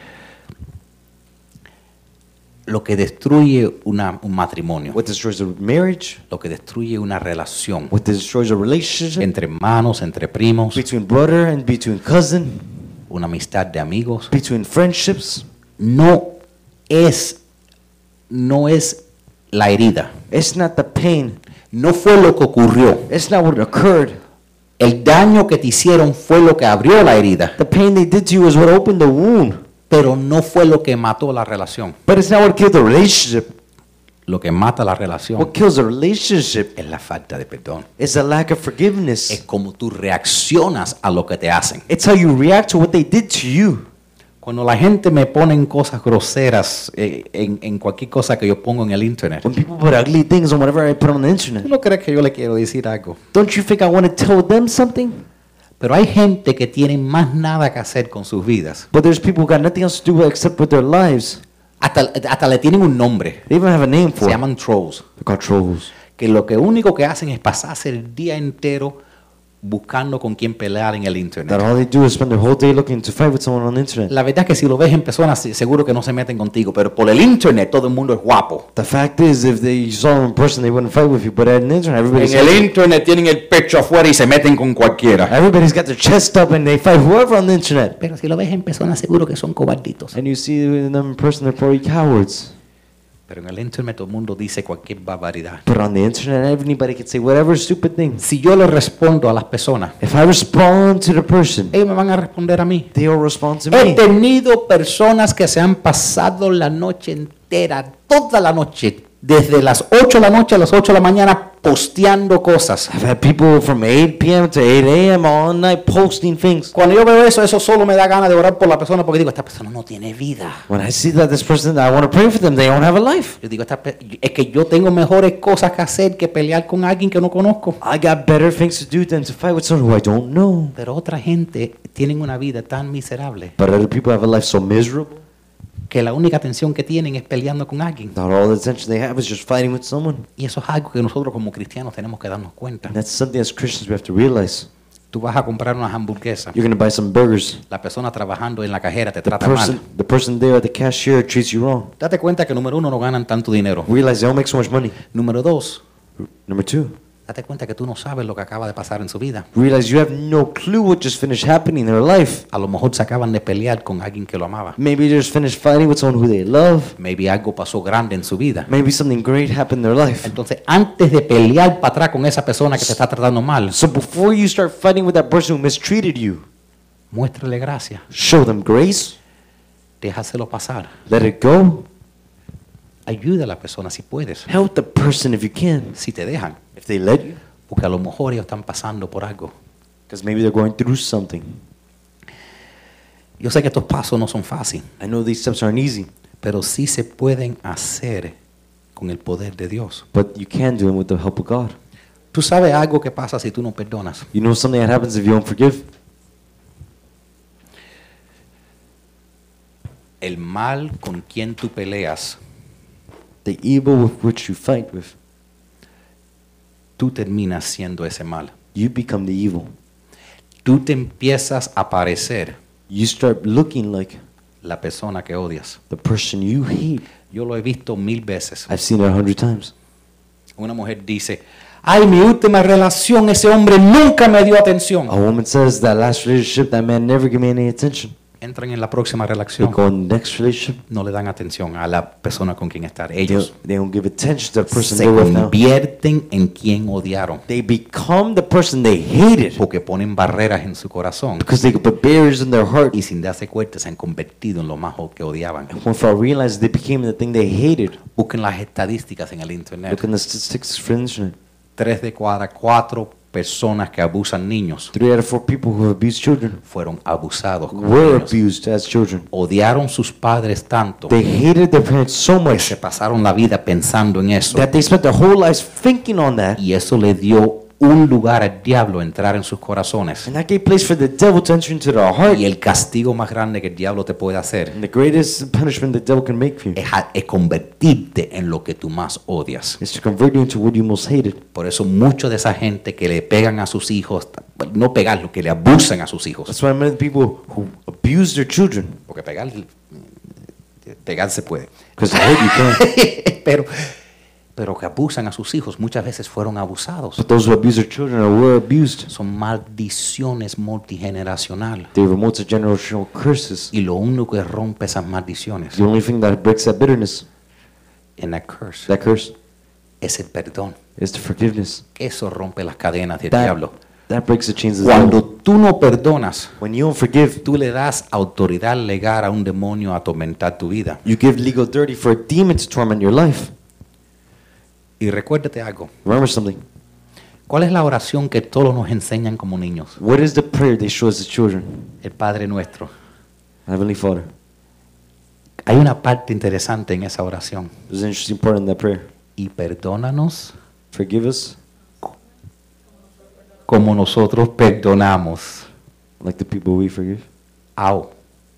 Lo que destruye una- un matrimonio, What destroys a marriage, lo que destruye una relación what destroys a relationship entre hermanos, entre primos, between brother and between cousin, una amistad de amigos, between friendships, no es, no es la herida. it's not the pain, No fue lo que ocurrió. it's not what occurred. El daño que te hicieron fue lo que abrió la herida, The pain they did to you is what opened the wound, pero no fue lo que mató la relación. but it's not what killed the relationship. Lo que mata la relación What kills a relationship es la falta de perdón. is a lack of forgiveness. Es como tú reaccionas a lo que te hacen. It's how you react to what they did to you. Cuando la gente me pone cosas groseras eh, en, en cualquier cosa que yo pongo en el internet, When people put ugly things on whatever I put on the ¿tú internet, no crees que yo le quiero decir algo? don't you think I want to tell them something? Pero hay gente que tiene más nada que hacer con sus vidas. But there's people who got nothing else to do except with their lives. Hasta, hasta le tienen un nombre. They even have a name Se for it. llaman trolls. They're called trolls. Que lo que único que hacen es pasarse el día entero buscando con quién pelear en el That internet. all they do is spend their whole day looking to fight with someone on the internet. La verdad es que si lo ves en persona, sí, seguro que no se meten contigo, pero por el internet todo el mundo es guapo. The fact is, if they saw them in person, they wouldn't fight with you. But on the internet, everybody's En el internet tienen el pecho afuera y se meten con cualquiera. everybody's got their chest up and they fight whoever on the internet. Pero si lo ves en persona, seguro que son cobarditos. And you see them in person, they're probably cowards. Pero en el internet todo el mundo dice cualquier barbaridad. But on the internet, anybody can say whatever stupid thing. Si yo le respondo a las personas, If I respond to the person, ellos me van a responder a mí. they will respond to He me. tenido personas que se han pasado la noche entera, toda la noche, desde las ocho de la noche a las ocho de la mañana, posteando cosas. I've had people from eight p m to eight a m all night posting things. Cuando yo veo eso, eso solo me da ganas de orar por la persona porque digo, esta persona no tiene vida. When I see that this person, I want to pray for them. They don't have a life. Yo digo, esta pe- es que yo tengo mejores cosas que hacer que pelear con alguien que no conozco. I got better things to do than to fight with someone who I don't know. Pero otra gente tiene una vida tan miserable But other people have a life so miserable que la única atención que tienen es peleando con alguien. that all the attention they have is just fighting with someone. Y eso es algo que nosotros como cristianos tenemos que darnos cuenta. And that's something as Christians we have to realize. Tú vas a comprar unas hamburguesas. You're going to buy some burgers. La persona trabajando en la cajera te The trata person, mal. the person there at the cashier treats you wrong. Date cuenta que número uno no ganan tanto dinero. Realize they don't make so much money. Número dos, Number two, date cuenta que tú no sabes lo que acaba de pasar en su vida. realize you have no clue what just finished happening in their life. A lo mejor se acaban de pelear con alguien que lo amaba. Maybe they just finished fighting with someone who they love. Maybe algo pasó grande en su vida. Maybe something great happened in their life. Entonces, antes de pelear para atrás con esa persona que te está tratando mal, So before you start fighting with that person who mistreated you, muéstrale gracia. show them grace, Déjaselo pasar. let it go, Ayuda a la persona si puedes, help the person if you can, si te dejan. if they let you, Porque a lo mejor ellos están pasando por algo. because maybe they're going through something. Yo sé que estos pasos no son fáciles, I know these steps aren't easy, pero sí se pueden hacer con el poder de Dios. but you can do them with the help of God. Tú sabes algo que pasa si tú no perdonas. You know something that happens if you don't forgive? El mal con quien tú peleas, The evil with which you fight with, tú terminas siendo ese mal. you become the evil. Tú te empiezas a parecer You start looking like la persona que odias. the person you hate. Yo lo he visto mil veces. I've seen it a hundred times. Una mujer dice, ay, mi última relación, ese hombre nunca me dio atención. A woman says that last relationship, that man never gave me any attention. Entran en la próxima They relación, go in the next relationship, no le dan atención a la persona con quien estar. they Ellos don't, they don't give attention to the person se they're with now. convierten en quien odiaron. They become the person they hated Porque ponen barreras en su corazón. because they could put barriers in their heart. Y sin darse cuenta se han convertido en lo más que odiaban. And without realizing, they became the thing they hated. Busquen las estadísticas en el internet. Look in the statistics for the internet. Tres de cada cuatro personas que abusan niños Three out of four people who abuse children fueron abusados como were niños. abused as children. Odiaron sus padres tanto They hated their parents so que much se pasaron la vida pensando en eso. that they spent their whole lives thinking on that. Y eso le dio un lugar al diablo a entrar en sus corazones. And that gave place for the devil to enter into their heart. Y el castigo más grande que el diablo te puede hacer And the greatest punishment the devil can make for you es, a- es convertirte en lo que tú más odias. is to convert you into what you most hated. Por eso mucho de esa gente que le pegan a sus hijos, bueno, no pegarlo, que le abusan a sus hijos. That's why many people who abuse their children, Porque pegar, pegar se puede. because they hate you can. pero, pero que abusan a sus hijos muchas veces fueron abusados. But those who abuse their children or were abused, Son maldiciones multigeneracionales. they were multi-generational curses. Y lo único que rompe esas maldiciones The only thing that breaks that bitterness, en la curse that curse, es el perdón. is the forgiveness. Eso rompe las cadenas del That, diablo. that breaks the chains of the Cuando devil. tú no perdonas, When you don't forgive, tú le das autoridad legal a un demonio a atormentar tu vida. you give legal authority for a demon to torment your life. Y recuérdate algo. Remember something. ¿Cuál es la oración que todos nos enseñan como niños? What is the prayer they show us as children? El Padre Nuestro. Heavenly Father. Hay una parte interesante en esa oración. There's an interesting part in that prayer. Y perdónanos Forgive us como nosotros perdonamos. like the people we forgive. Au.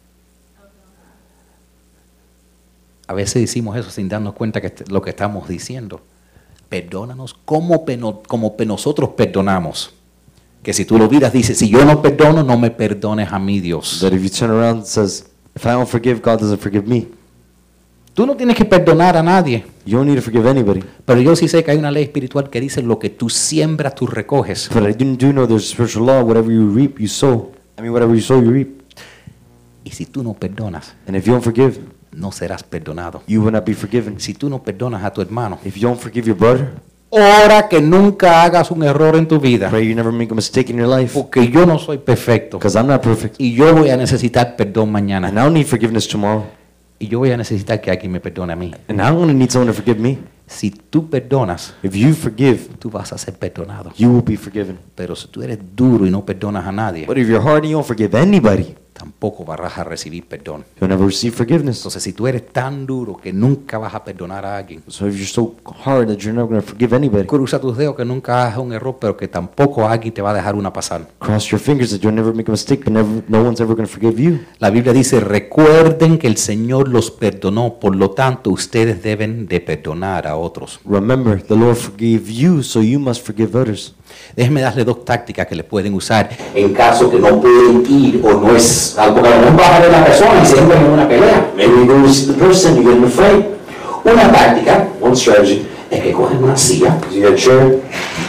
A veces decimos eso sin darnos cuenta que est- lo que estamos diciendo. Perdónanos como, peno- como pe- nosotros perdonamos. Que si tú lo miras, dice, si yo no perdono, no me perdones a mí, Dios. That if you turn around and says, if I don't forgive, God doesn't forgive me. Tú no tienes que perdonar a nadie. You don't need to forgive anybody. Pero yo sí sé que hay una ley espiritual que dice lo que tú siembras, tú recoges. But I do do know there's a spiritual law. Whatever you reap, you sow. I mean, whatever you sow, you reap. Y si tú no perdonas, And if you don't forgive, no serás perdonado. you will not be forgiven. Si tú no perdonas a tu hermano, If you don't forgive your brother, ora que nunca hagas un error en tu vida, pray you never make a mistake in your life, porque yo no soy perfecto because I'm not perfect. y yo voy a necesitar perdón And mañana I don't need forgiveness tomorrow. y yo voy a necesitar que alguien me perdone a mí. And I'm going to need someone to forgive me. Si tú perdonas, If you forgive, tú vas a ser perdonado. you will be forgiven. Pero si tú eres duro y no perdonas a nadie, But if you're hard and you don't forgive anybody, tampoco vas a recibir perdón. you'll never receive forgiveness. Entonces, si tú eres tan duro que nunca vas a perdonar a alguien, So if you're so hard that you're never going to forgive anybody, cruza tus dedos que nunca hagas un error, pero que tampoco alguien te va a dejar una pasar. cross your fingers that you'll never make a mistake, but never, no one's ever going to forgive you. La Biblia dice, recuerden que el Señor los perdonó, por lo tanto ustedes deben de perdonar a otros. Remember, the Lord forgave you, so you must forgive others. Déjenme darle dos tácticas que le pueden usar. En caso que no pueden ir o no es algo que no va a ver la persona y se entran en una pelea. Maybe you go to see the person, you get in a fight. Una táctica One strategy es que cogen una silla is you get a chair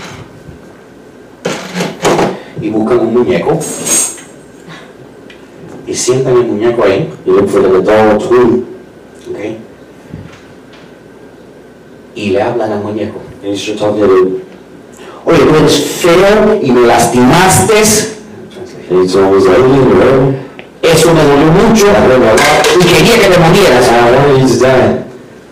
y buscan un muñeco y sientan el muñeco ahí, you look for like a doll toy, ¿ok? Y le hablan al muñeco. and you start talking to it. Oye, tú eres feo y me lastimaste. And it's always like, "Hey, whatever. Eso me dolió mucho y quería que me murieras. I wanted you to die,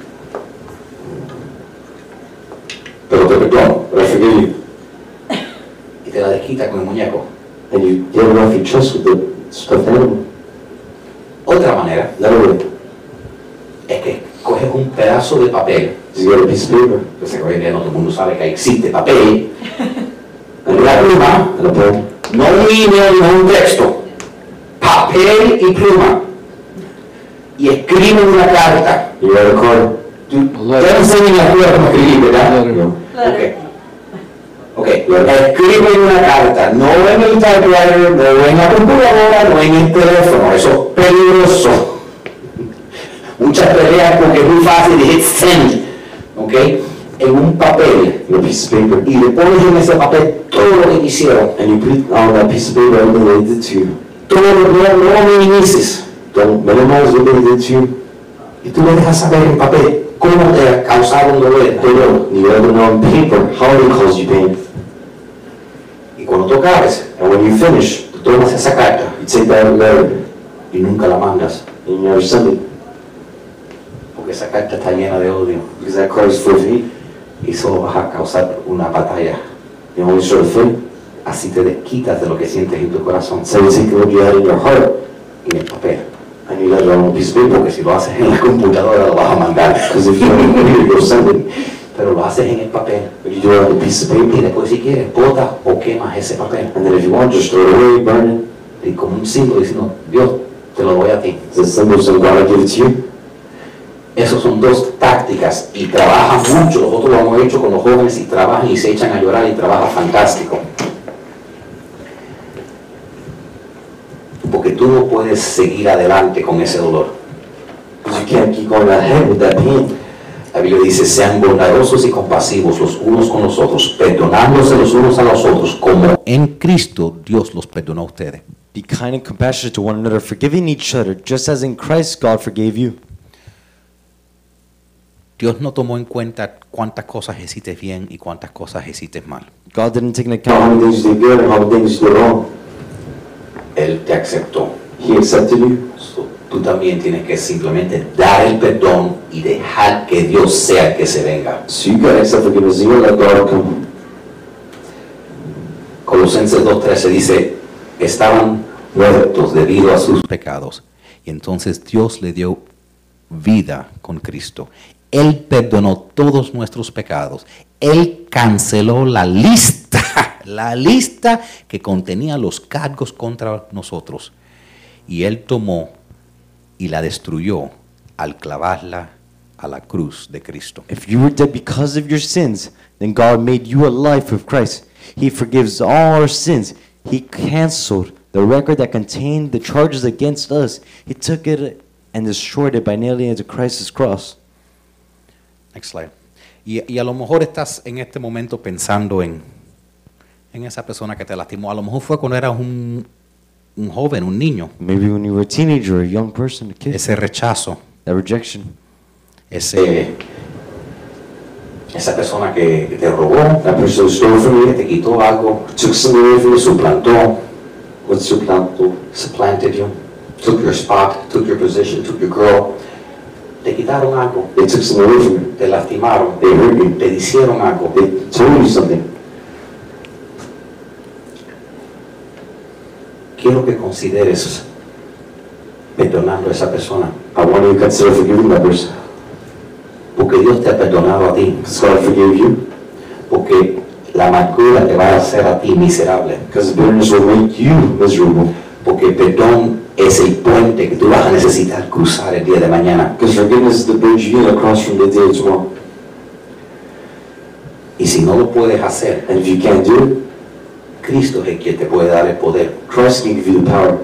Pero te perdono. but I forgive you." Y te la desquita con el muñeco. And you get it off your chest with the stuffed animal. Otra manera Another way es que coges un pedazo de papel. is you get a piece of paper Pues hoy en día no todo el mundo sabe que existe papel. Una pluma, and a pen. no un email, no un texto. Papel y pluma. Y escriben una carta. You write a card. Tú te enseñan la escuela cómo escribir, ¿verdad? No. Ok. Ok, escriben una carta, no en el typewriter, no en la computadora, no en el teléfono, eso es peligroso. Muchas peleas porque es muy fácil de hit send, ok, en un papel, In a piece of paper. y le pones en ese papel todo lo que hicieron, And you put on that piece of paper everything they did to you. todo lo que no minimices, Don't minimize what they did to you. y tú le dejas saber en papel cómo te causaron dolor, dolor. You let them know on paper how they caused you pain. Y cuando tú acabes, And when you finish, tú tomas esa carta you take that letter y nunca la mandas, and you never send it. porque esa carta está llena de odio. Because that card is full of hate. Y solo vas a causar una batalla. You only start a fight. Así te desquitas de lo que sientes en tu corazón, So you take what you had in your heart en el papel. and you let it on a piece of paper. Porque si lo haces en la computadora lo vas a mandar. Because if you don't read it, you'll send it. Pero lo haces en el papel. But you do it on a piece of Y paper. después si quieres, botas o quemas ese papel. And then if you want, just throw it away, burn it. Y como un símbolo diciendo, Dios, te lo doy a ti. It's a symbol of God, I give it to you. Esas son dos tácticas y trabajan mucho. Nosotros lo hemos hecho con los jóvenes y trabajan y se echan a llorar y trabaja fantástico. Porque tú no puedes seguir adelante con ese dolor. Because you can't keep going ahead with that pain. La Biblia dice, sean bondadosos y compasivos los unos con los otros, perdonándose los unos a los otros, como En Cristo Dios los perdonó a ustedes. Be kind and compassionate to one another, forgiving each other, just as in Christ God forgave you. Dios no tomó en cuenta cuántas cosas hiciste bien y cuántas cosas hiciste mal. God didn't take into How many account things you did good and how many things you did wrong. Él te aceptó. He accepted you. So, tú también tienes que simplemente dar el perdón y dejar que Dios sea el que se venga. So you gotta accept forgiveness. You gotta let God come. Colosenses dos trece dice, estaban muertos debido a sus Pecados. Y entonces Dios le dio vida con Cristo. Él perdonó todos nuestros pecados. Él canceló la lista, la lista que contenía los cargos contra nosotros. Y Él tomó y la destruyó al clavarla a la cruz de Cristo. if you were dead because of your sins, then God made you alive with Christ. He forgives all our sins. He canceled the record that contained the charges against us. He took it and destroyed it by nailing it to Christ's cross. Next slide. Y, y a lo mejor estás en este momento pensando en, en esa persona que te lastimó. A lo mejor fue cuando eras un, un joven, un niño. Maybe when you were a teenager, a young person, a kid, Ese rechazo, that rejection. Ese, Eh, esa persona que, que te robó, la persona que stole from you, que te quitó algo, took something away from you, suplantó, what suplantó, supplanted you, took your spot, took your position, took your girl, te quitaron algo, they took something away from you, te lastimaron, they hurt you, te hicieron algo, they told you something. Quiero que consideres perdonando a esa persona. I want you to consider forgiving that person. Porque Dios te ha perdonado a ti. Because God forgave you. Porque la amargura te va a hacer a ti miserable. Because bitterness will make you miserable. Porque perdón es el puente que tú vas a necesitar cruzar el día de mañana. Because forgiveness is the bridge you need to cross from the day tomorrow. Y si no lo puedes hacer, and if you can't do it, Cristo es el que te puede dar el poder. Christ can give you the power.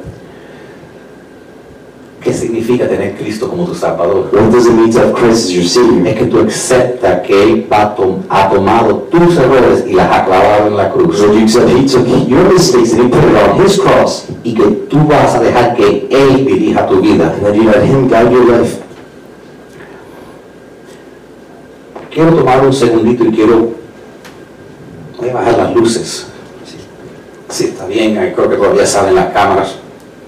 ¿Qué significa tener Cristo como tu Salvador? What does it mean to have Christ as your Savior? Es que tú aceptas que Él va tom ha tomado tus errores y las ha clavado en la cruz. So you accept He took your mistakes and He put it on His cross. Y que tú vas a dejar que Él dirija tu vida. And that you let Him guide your life. Quiero tomar un segundito y quiero... Voy a bajar las luces. Sí, sí, está bien, creo que todavía salen las cámaras.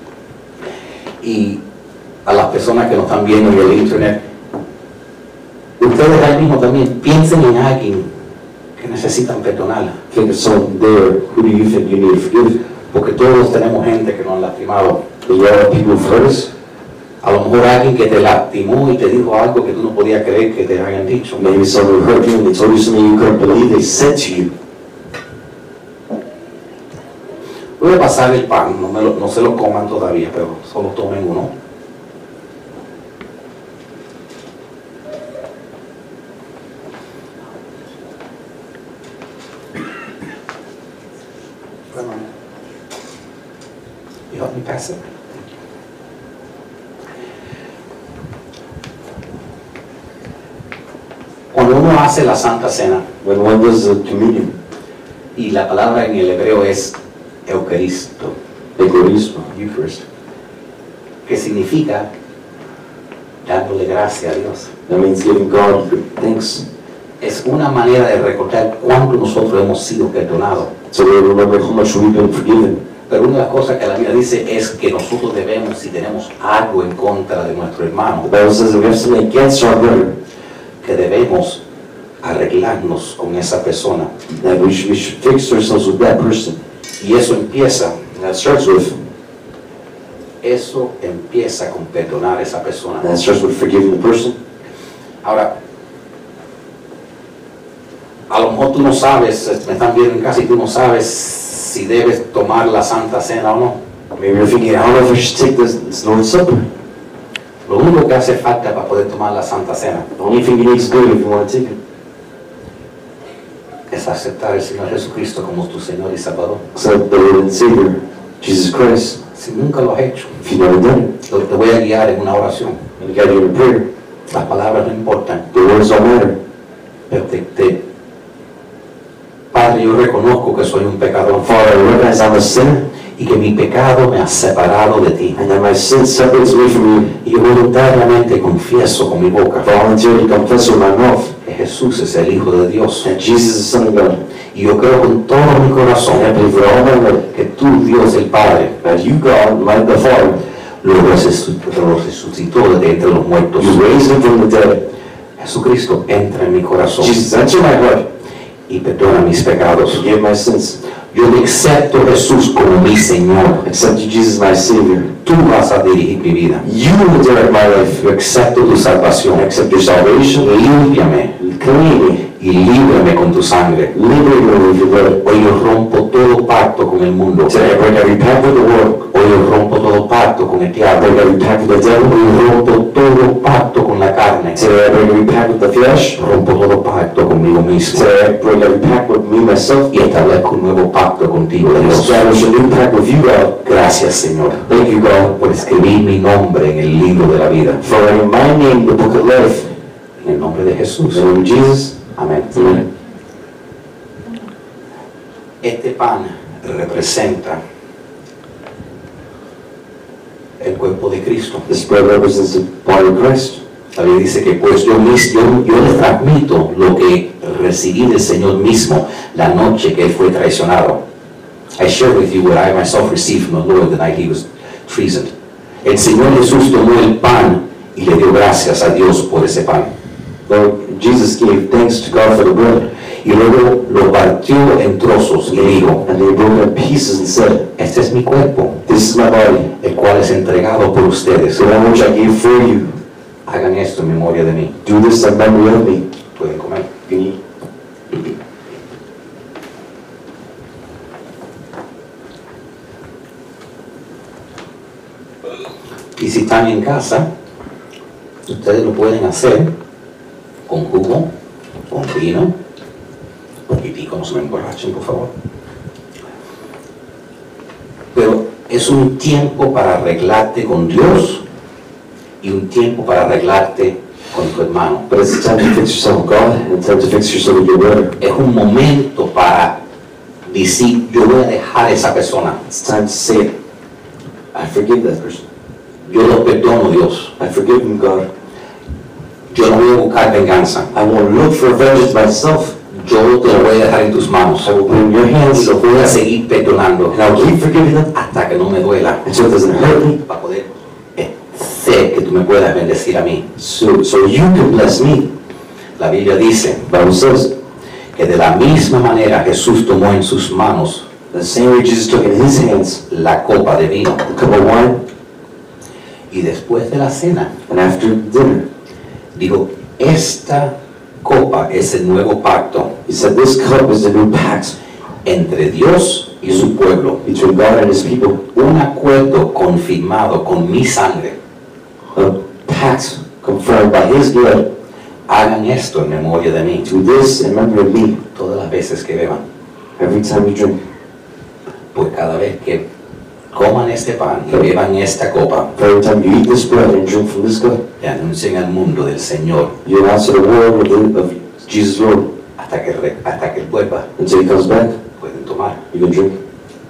Y a las personas que nos están viendo en el internet, ustedes ahí mismo también piensen en alguien que necesitan perdonar. Think of someone there. Who do you think you need to forgive? Porque todos tenemos gente que nos han lastimado. Y ya people first. A lo mejor alguien que te lastimó y te dijo algo que tú no podías creer que te hayan dicho. Maybe someone hurt you and they told you something you couldn't believe they said to you. Voy a pasar el pan, no, me lo, no se lo coman todavía, pero solo tomen uno. You help me pass it? Cuando uno hace la Santa Cena, when one does the communion, y la palabra en el hebreo es Eucaristo, Eucarismo, Eucharist, que significa dándole gracias a Dios. That means giving God thanks. Es una manera de recordar cuánto nosotros hemos sido perdonados. So we remember how much we've been forgiven. Pero una de las cosas que la Biblia dice es que nosotros debemos, si tenemos algo en contra de nuestro hermano, the Bible says that we have something against our brother, que debemos arreglarnos con esa persona. That we should, we should fix ourselves with that person. Y eso empieza, that starts with, eso empieza con perdonar a esa persona. That starts with forgiving the person. Ahora, a lo mejor tú no sabes, me están viendo en casa y tú no sabes si debes tomar la Santa Cena o no. Maybe you're thinking, I don't know if I should take this, this Lord's Supper. Lo único que hace falta para poder tomar la Santa Cena, the only thing you need to do if you want to take it, es aceptar al Señor Jesucristo como tu Señor y Salvador. Accept the Lord and Savior, Jesus Christ. Si nunca lo has hecho, if you've never done it, te voy a guiar en una oración. I'm going to guide you in a prayer. Las palabras no importan. The words don't matter. Pero te, te, Padre, yo reconozco que soy un pecador. Father, I recognize I'm a sinner. Y que mi pecado me ha separado de ti. And that my sin separates me from you. Y yo voluntariamente confieso con mi boca. Voluntarily confess with my mouth. Que Jesús es el Hijo de Dios. And Jesus is the Son of God. Y yo creo con todo mi corazón. And I believe with all my heart. Que tú, Dios el Padre. That you, God, my the Father. Lo resucitó de entre los muertos. You raised him from the dead. Jesucristo, entra en mi corazón. Jesus, enter my heart. Y perdona mis pecados. Forgive my sins. Yo te acepto Jesús como mi Señor. Accept you, Jesus, my Savior. Tú vas a dirigir mi vida. You will direct my life. Yo acepto tu salvación. I accept your salvation. Límpiame. Clean me. Y líbrame con tu sangre. Liberate me with your blood. Hoy yo rompo todo pacto con el mundo. Today I break every pact with the world. Hoy yo rompo todo pacto con el diablo. I break every pact with the devil. Hoy yo rompo todo pacto con la carne. Today I break every pact with the flesh. Rompo todo pacto conmigo mismo. Today I break every pact with me myself. Y establezco un nuevo pacto contigo, Dios. Establish a new pact with you, God. Gracias, Señor. Thank you, God, por escribir mi nombre en el libro de la vida. For writing my name in the book of life. En el nombre de Jesús. In the name of Jesus. Amén. Amén. Este pan representa el cuerpo de Cristo. This bread represents the body of Christ. La Biblia dice que pues yo, mis- yo, yo les transmito lo que recibí del Señor mismo la noche que Él fue traicionado. I share with you what I myself received from the Lord the night He was treasoned. El Señor Jesús tomó el pan y le dio gracias a Dios por ese pan. Lord Jesus gave thanks to God for the bread, Y luego lo partió en trozos y dijo, and they broke it in pieces and said, este es mi cuerpo, "This is my body, el cual es entregado por ustedes. the one which I gave for you. Hagan esto en memoria de mí. Do this in memory of me." Pueden comer. You can eat. Y si están en casa, ustedes lo pueden hacer con jugo, con vino, poquitico, no se me emborrachen, por favor. Pero es un tiempo para arreglarte con Dios y un tiempo para arreglarte con tu hermano. But it's time to fix yourself with God, and it's time to fix yourself with your brother. Es un momento para decir, yo voy a dejar a esa persona. It's time to say it. I forgive that person. Yo lo perdono, Dios. I forgive him, God. Yo no voy a buscar venganza. I won't look for vengeance myself. Yo te lo voy a dejar en tus manos. I will put it in your Y hands, lo voy a seguir perdonando and I will keep forgiving them hasta que no me duela. until it doesn't hurt me, Para poder eh, ser que tú me puedas bendecir a mí. so, so you can bless me. La Biblia dice The Bible says, que de la misma manera Jesús tomó en sus manos the same way Jesus took in his hands la copa de vino. the cup of wine, Y después de la cena, and after dinner, dijo, esta copa es el nuevo pacto he said, "This cup is the new pact entre Dios y su pueblo. between God and his people, Un acuerdo confirmado con mi sangre. a pact confirmed by his blood. Hagan esto en memoria de mí Do this in memory of me todas las veces que beban. every time you drink." Pues cada vez que coman este pan y beban esta copa, For every time you eat this bread and drink from this cup, le anuncien al mundo del Señor you announce to the world of, the, of Jesus' Lord. hasta que, re- hasta que Él vuelva. Until he comes back, Pueden tomar. you can drink.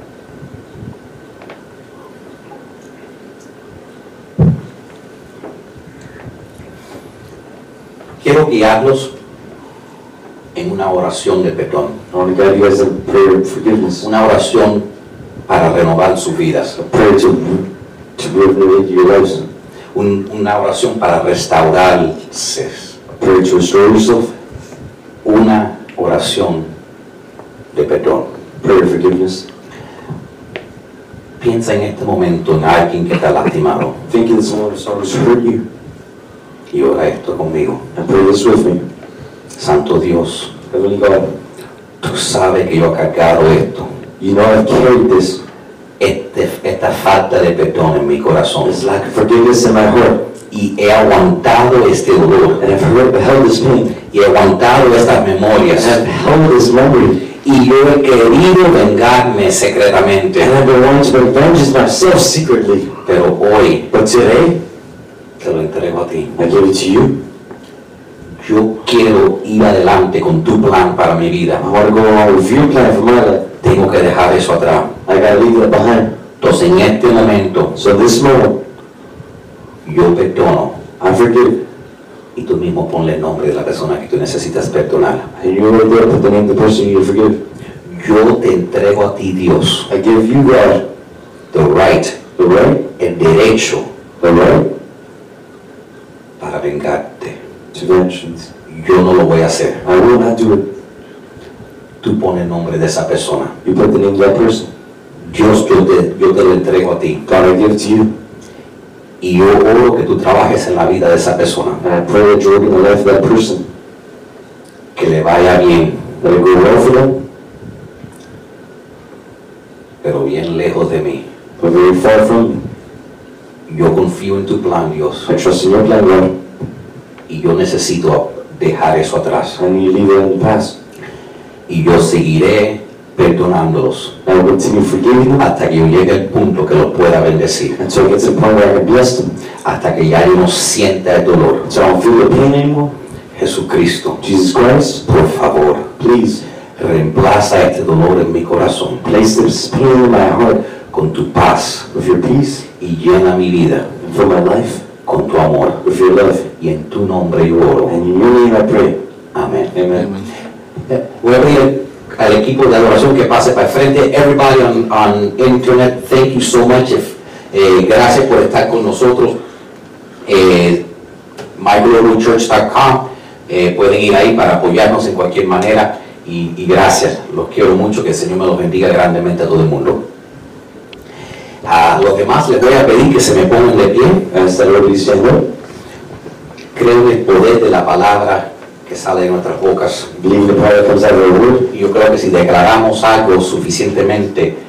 Quiero guiarlos en una oración de perdón, I want to guide you guys in a prayer of forgiveness, una oración para renovar sus vidas, a prayer to, to renovate your lives, un- una oración para restaurarse, a prayer to restore yourself, una oración de perdón. a prayer of forgiveness. Piensa en este momento en alguien que está lastimado Think of someone who's hurt you, y ora esto conmigo. and pray this with me. Santo Dios, Heavenly God, tú sabes que yo he cargado esto, you know I've carried this, este- esta falta de perdón en mi corazón this lack of forgiveness in my heart, y he aguantado este dolor and I've held, held this pain, y he aguantado estas and memorias I've held this memory, y yo he querido vengarme secretamente, and I've been wanting to revenge myself secretly. pero hoy But today, te lo entrego a ti. I give it to you. Yo quiero ir adelante con tu plan para mi vida. I want to go along with your plan for my life. Tengo que dejar eso atrás. I gotta leave that behind. Entonces en este momento So this moment, yo perdono I forgive. y tú mismo ponle el nombre de la persona que tú necesitas perdonar. And you right there put the name of the person you need to forgive. Yo te entrego a ti, Dios, I give you, God, the right, the right, el derecho the right para vengarte. to vengeance. Yo no lo voy a hacer. I will not do it. Tú pones el nombre de esa persona. You put the name of that person. Dios, yo te, yo te lo entrego a ti. God, I give it to you. Y yo oro que tú trabajes en la vida de esa persona. And I pray that you work in the life of that person. Que le vaya bien, Let it go well for them, pero bien lejos de mí. but very far from me. Yo confío en tu plan, Dios. I trust in your plan, God. Y yo necesito dejar eso atrás. I need to leave that in the past. Y yo seguiré perdonándolos I will continue forgiving them hasta que yo llegue al punto que los pueda bendecir. until I get to the point where I can bless them. Hasta que ya yo no sienta el dolor. Until I don't feel the pain anymore. Jesucristo, Jesus Christ, por favor, please reemplaza este dolor en mi corazón place this pain in my heart con tu paz with your peace y llena mi vida and fill my life con tu amor. with your love. Y en tu nombre yo oro. And in your name I pray. Amén. Amen. Amen. Eh, Voy a pedir al equipo de adoración que pase para el frente. Everybody on, on internet, thank you so much. If, eh, gracias por estar con nosotros. Eh, my global church dot com, eh, pueden ir ahí para apoyarnos en cualquier manera. Y, y gracias, los quiero mucho. Que el Señor me los bendiga grandemente a todo el mundo. A los demás les voy a pedir que se me pongan de pie. As the Lord is saying, Creo en el poder de la palabra que sale de nuestras bocas. believe the power that comes out of the word. Y yo creo que si declaramos algo suficientemente